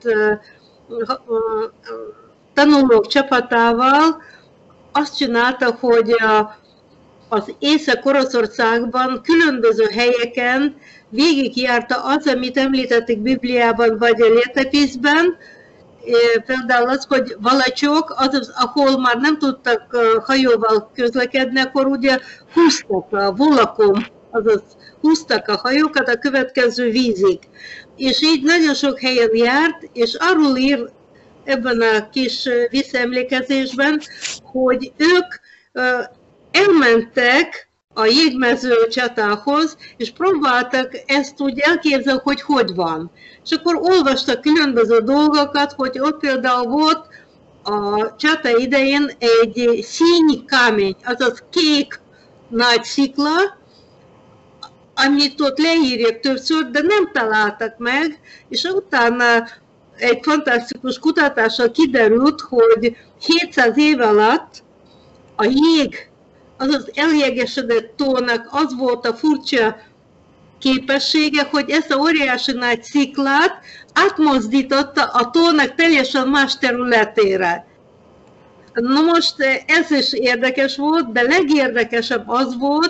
tanulók csapatával azt csinálta, hogy az Észak-Oroszországban különböző helyeken végigjárta az, amit említették Bibliában vagy a Létepíszben, például az, hogy Valacsok, azaz, ahol már nem tudtak hajóval közlekedni, akkor ugye húztak a Volakon, azaz húztak a hajókat a következő vízig. És így nagyon sok helyen járt, és arról ír ebben a kis visszaemlékezésben, hogy ők elmentek a jégmező csatához, és próbáltak ezt úgy elképzelni, hogy van. És akkor olvastak különböző dolgokat, hogy ott például volt a csata idején egy színy kámény, azaz kék nagy szikla, amit ott leírják többször, de nem találtak meg, és utána egy fantasztikus kutatással kiderült, hogy 700 év alatt a jég, azaz eljégesedett tónak az volt a furcsa képessége, hogy ezt a óriási nagy sziklát átmozdította a tónak teljesen más területére. Na most ez is érdekes volt, de legérdekesebb az volt,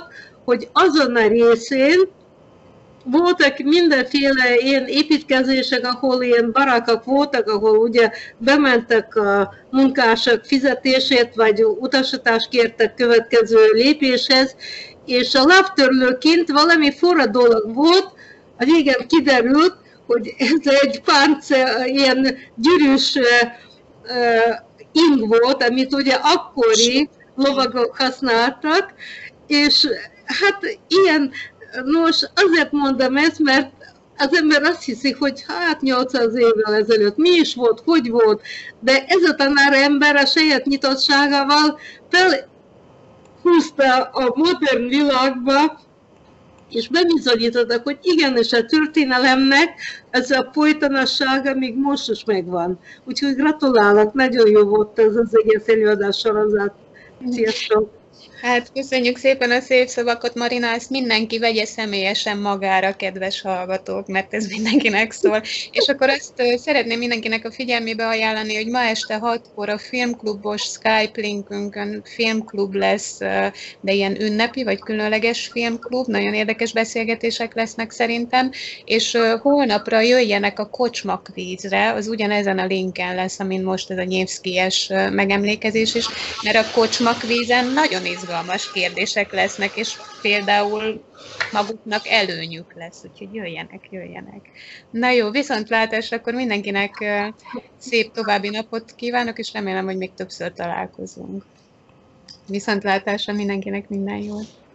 hogy azon a részén voltak mindenféle ilyen építkezések, ahol ilyen barakkok voltak, ahol ugye bementek a munkások fizetését, vagy utasítást kértek következő lépéshez, és a lábtörlőként valami forra dolog volt, a végén kiderült, hogy ez egy ilyen gyűrűs ing volt, amit ugye akkori lovagok használtak, és hát ilyen, nos, azért mondom ezt, mert az ember azt hiszi, hogy hát 800 évvel ezelőtt mi is volt, hogy volt, de ez a tanárember a saját nyitottságával felhúzta a modern világba, és bebizonyítottak, hogy igenis a történelemnek ez a folytonossága még most is megvan. Úgyhogy gratulálok, nagyon jó volt ez az egész előadás sorozat. Sziasztok! Hát köszönjük szépen a szép szavakat, Marina, ezt mindenki vegye személyesen magára, kedves hallgatók, mert ez mindenkinek szól. És akkor azt szeretném mindenkinek a figyelmébe ajánlani, hogy ma este 6-kor a filmklubos Skype linkünkön filmklub lesz, de ilyen ünnepi vagy különleges filmklub, nagyon érdekes beszélgetések lesznek szerintem, és holnapra jöjjenek a kocsmakvízre, az ugyanezen a linken lesz, amin most ez a Nyevszkij-es megemlékezés is, mert a kocsmakvízen nagyon izgalmas kérdések lesznek, és például maguknak előnyük lesz, úgyhogy jöjjenek. Na jó, viszontlátásra, akkor mindenkinek szép további napot kívánok, és remélem, hogy még többször találkozunk. Viszontlátásra mindenkinek minden jót!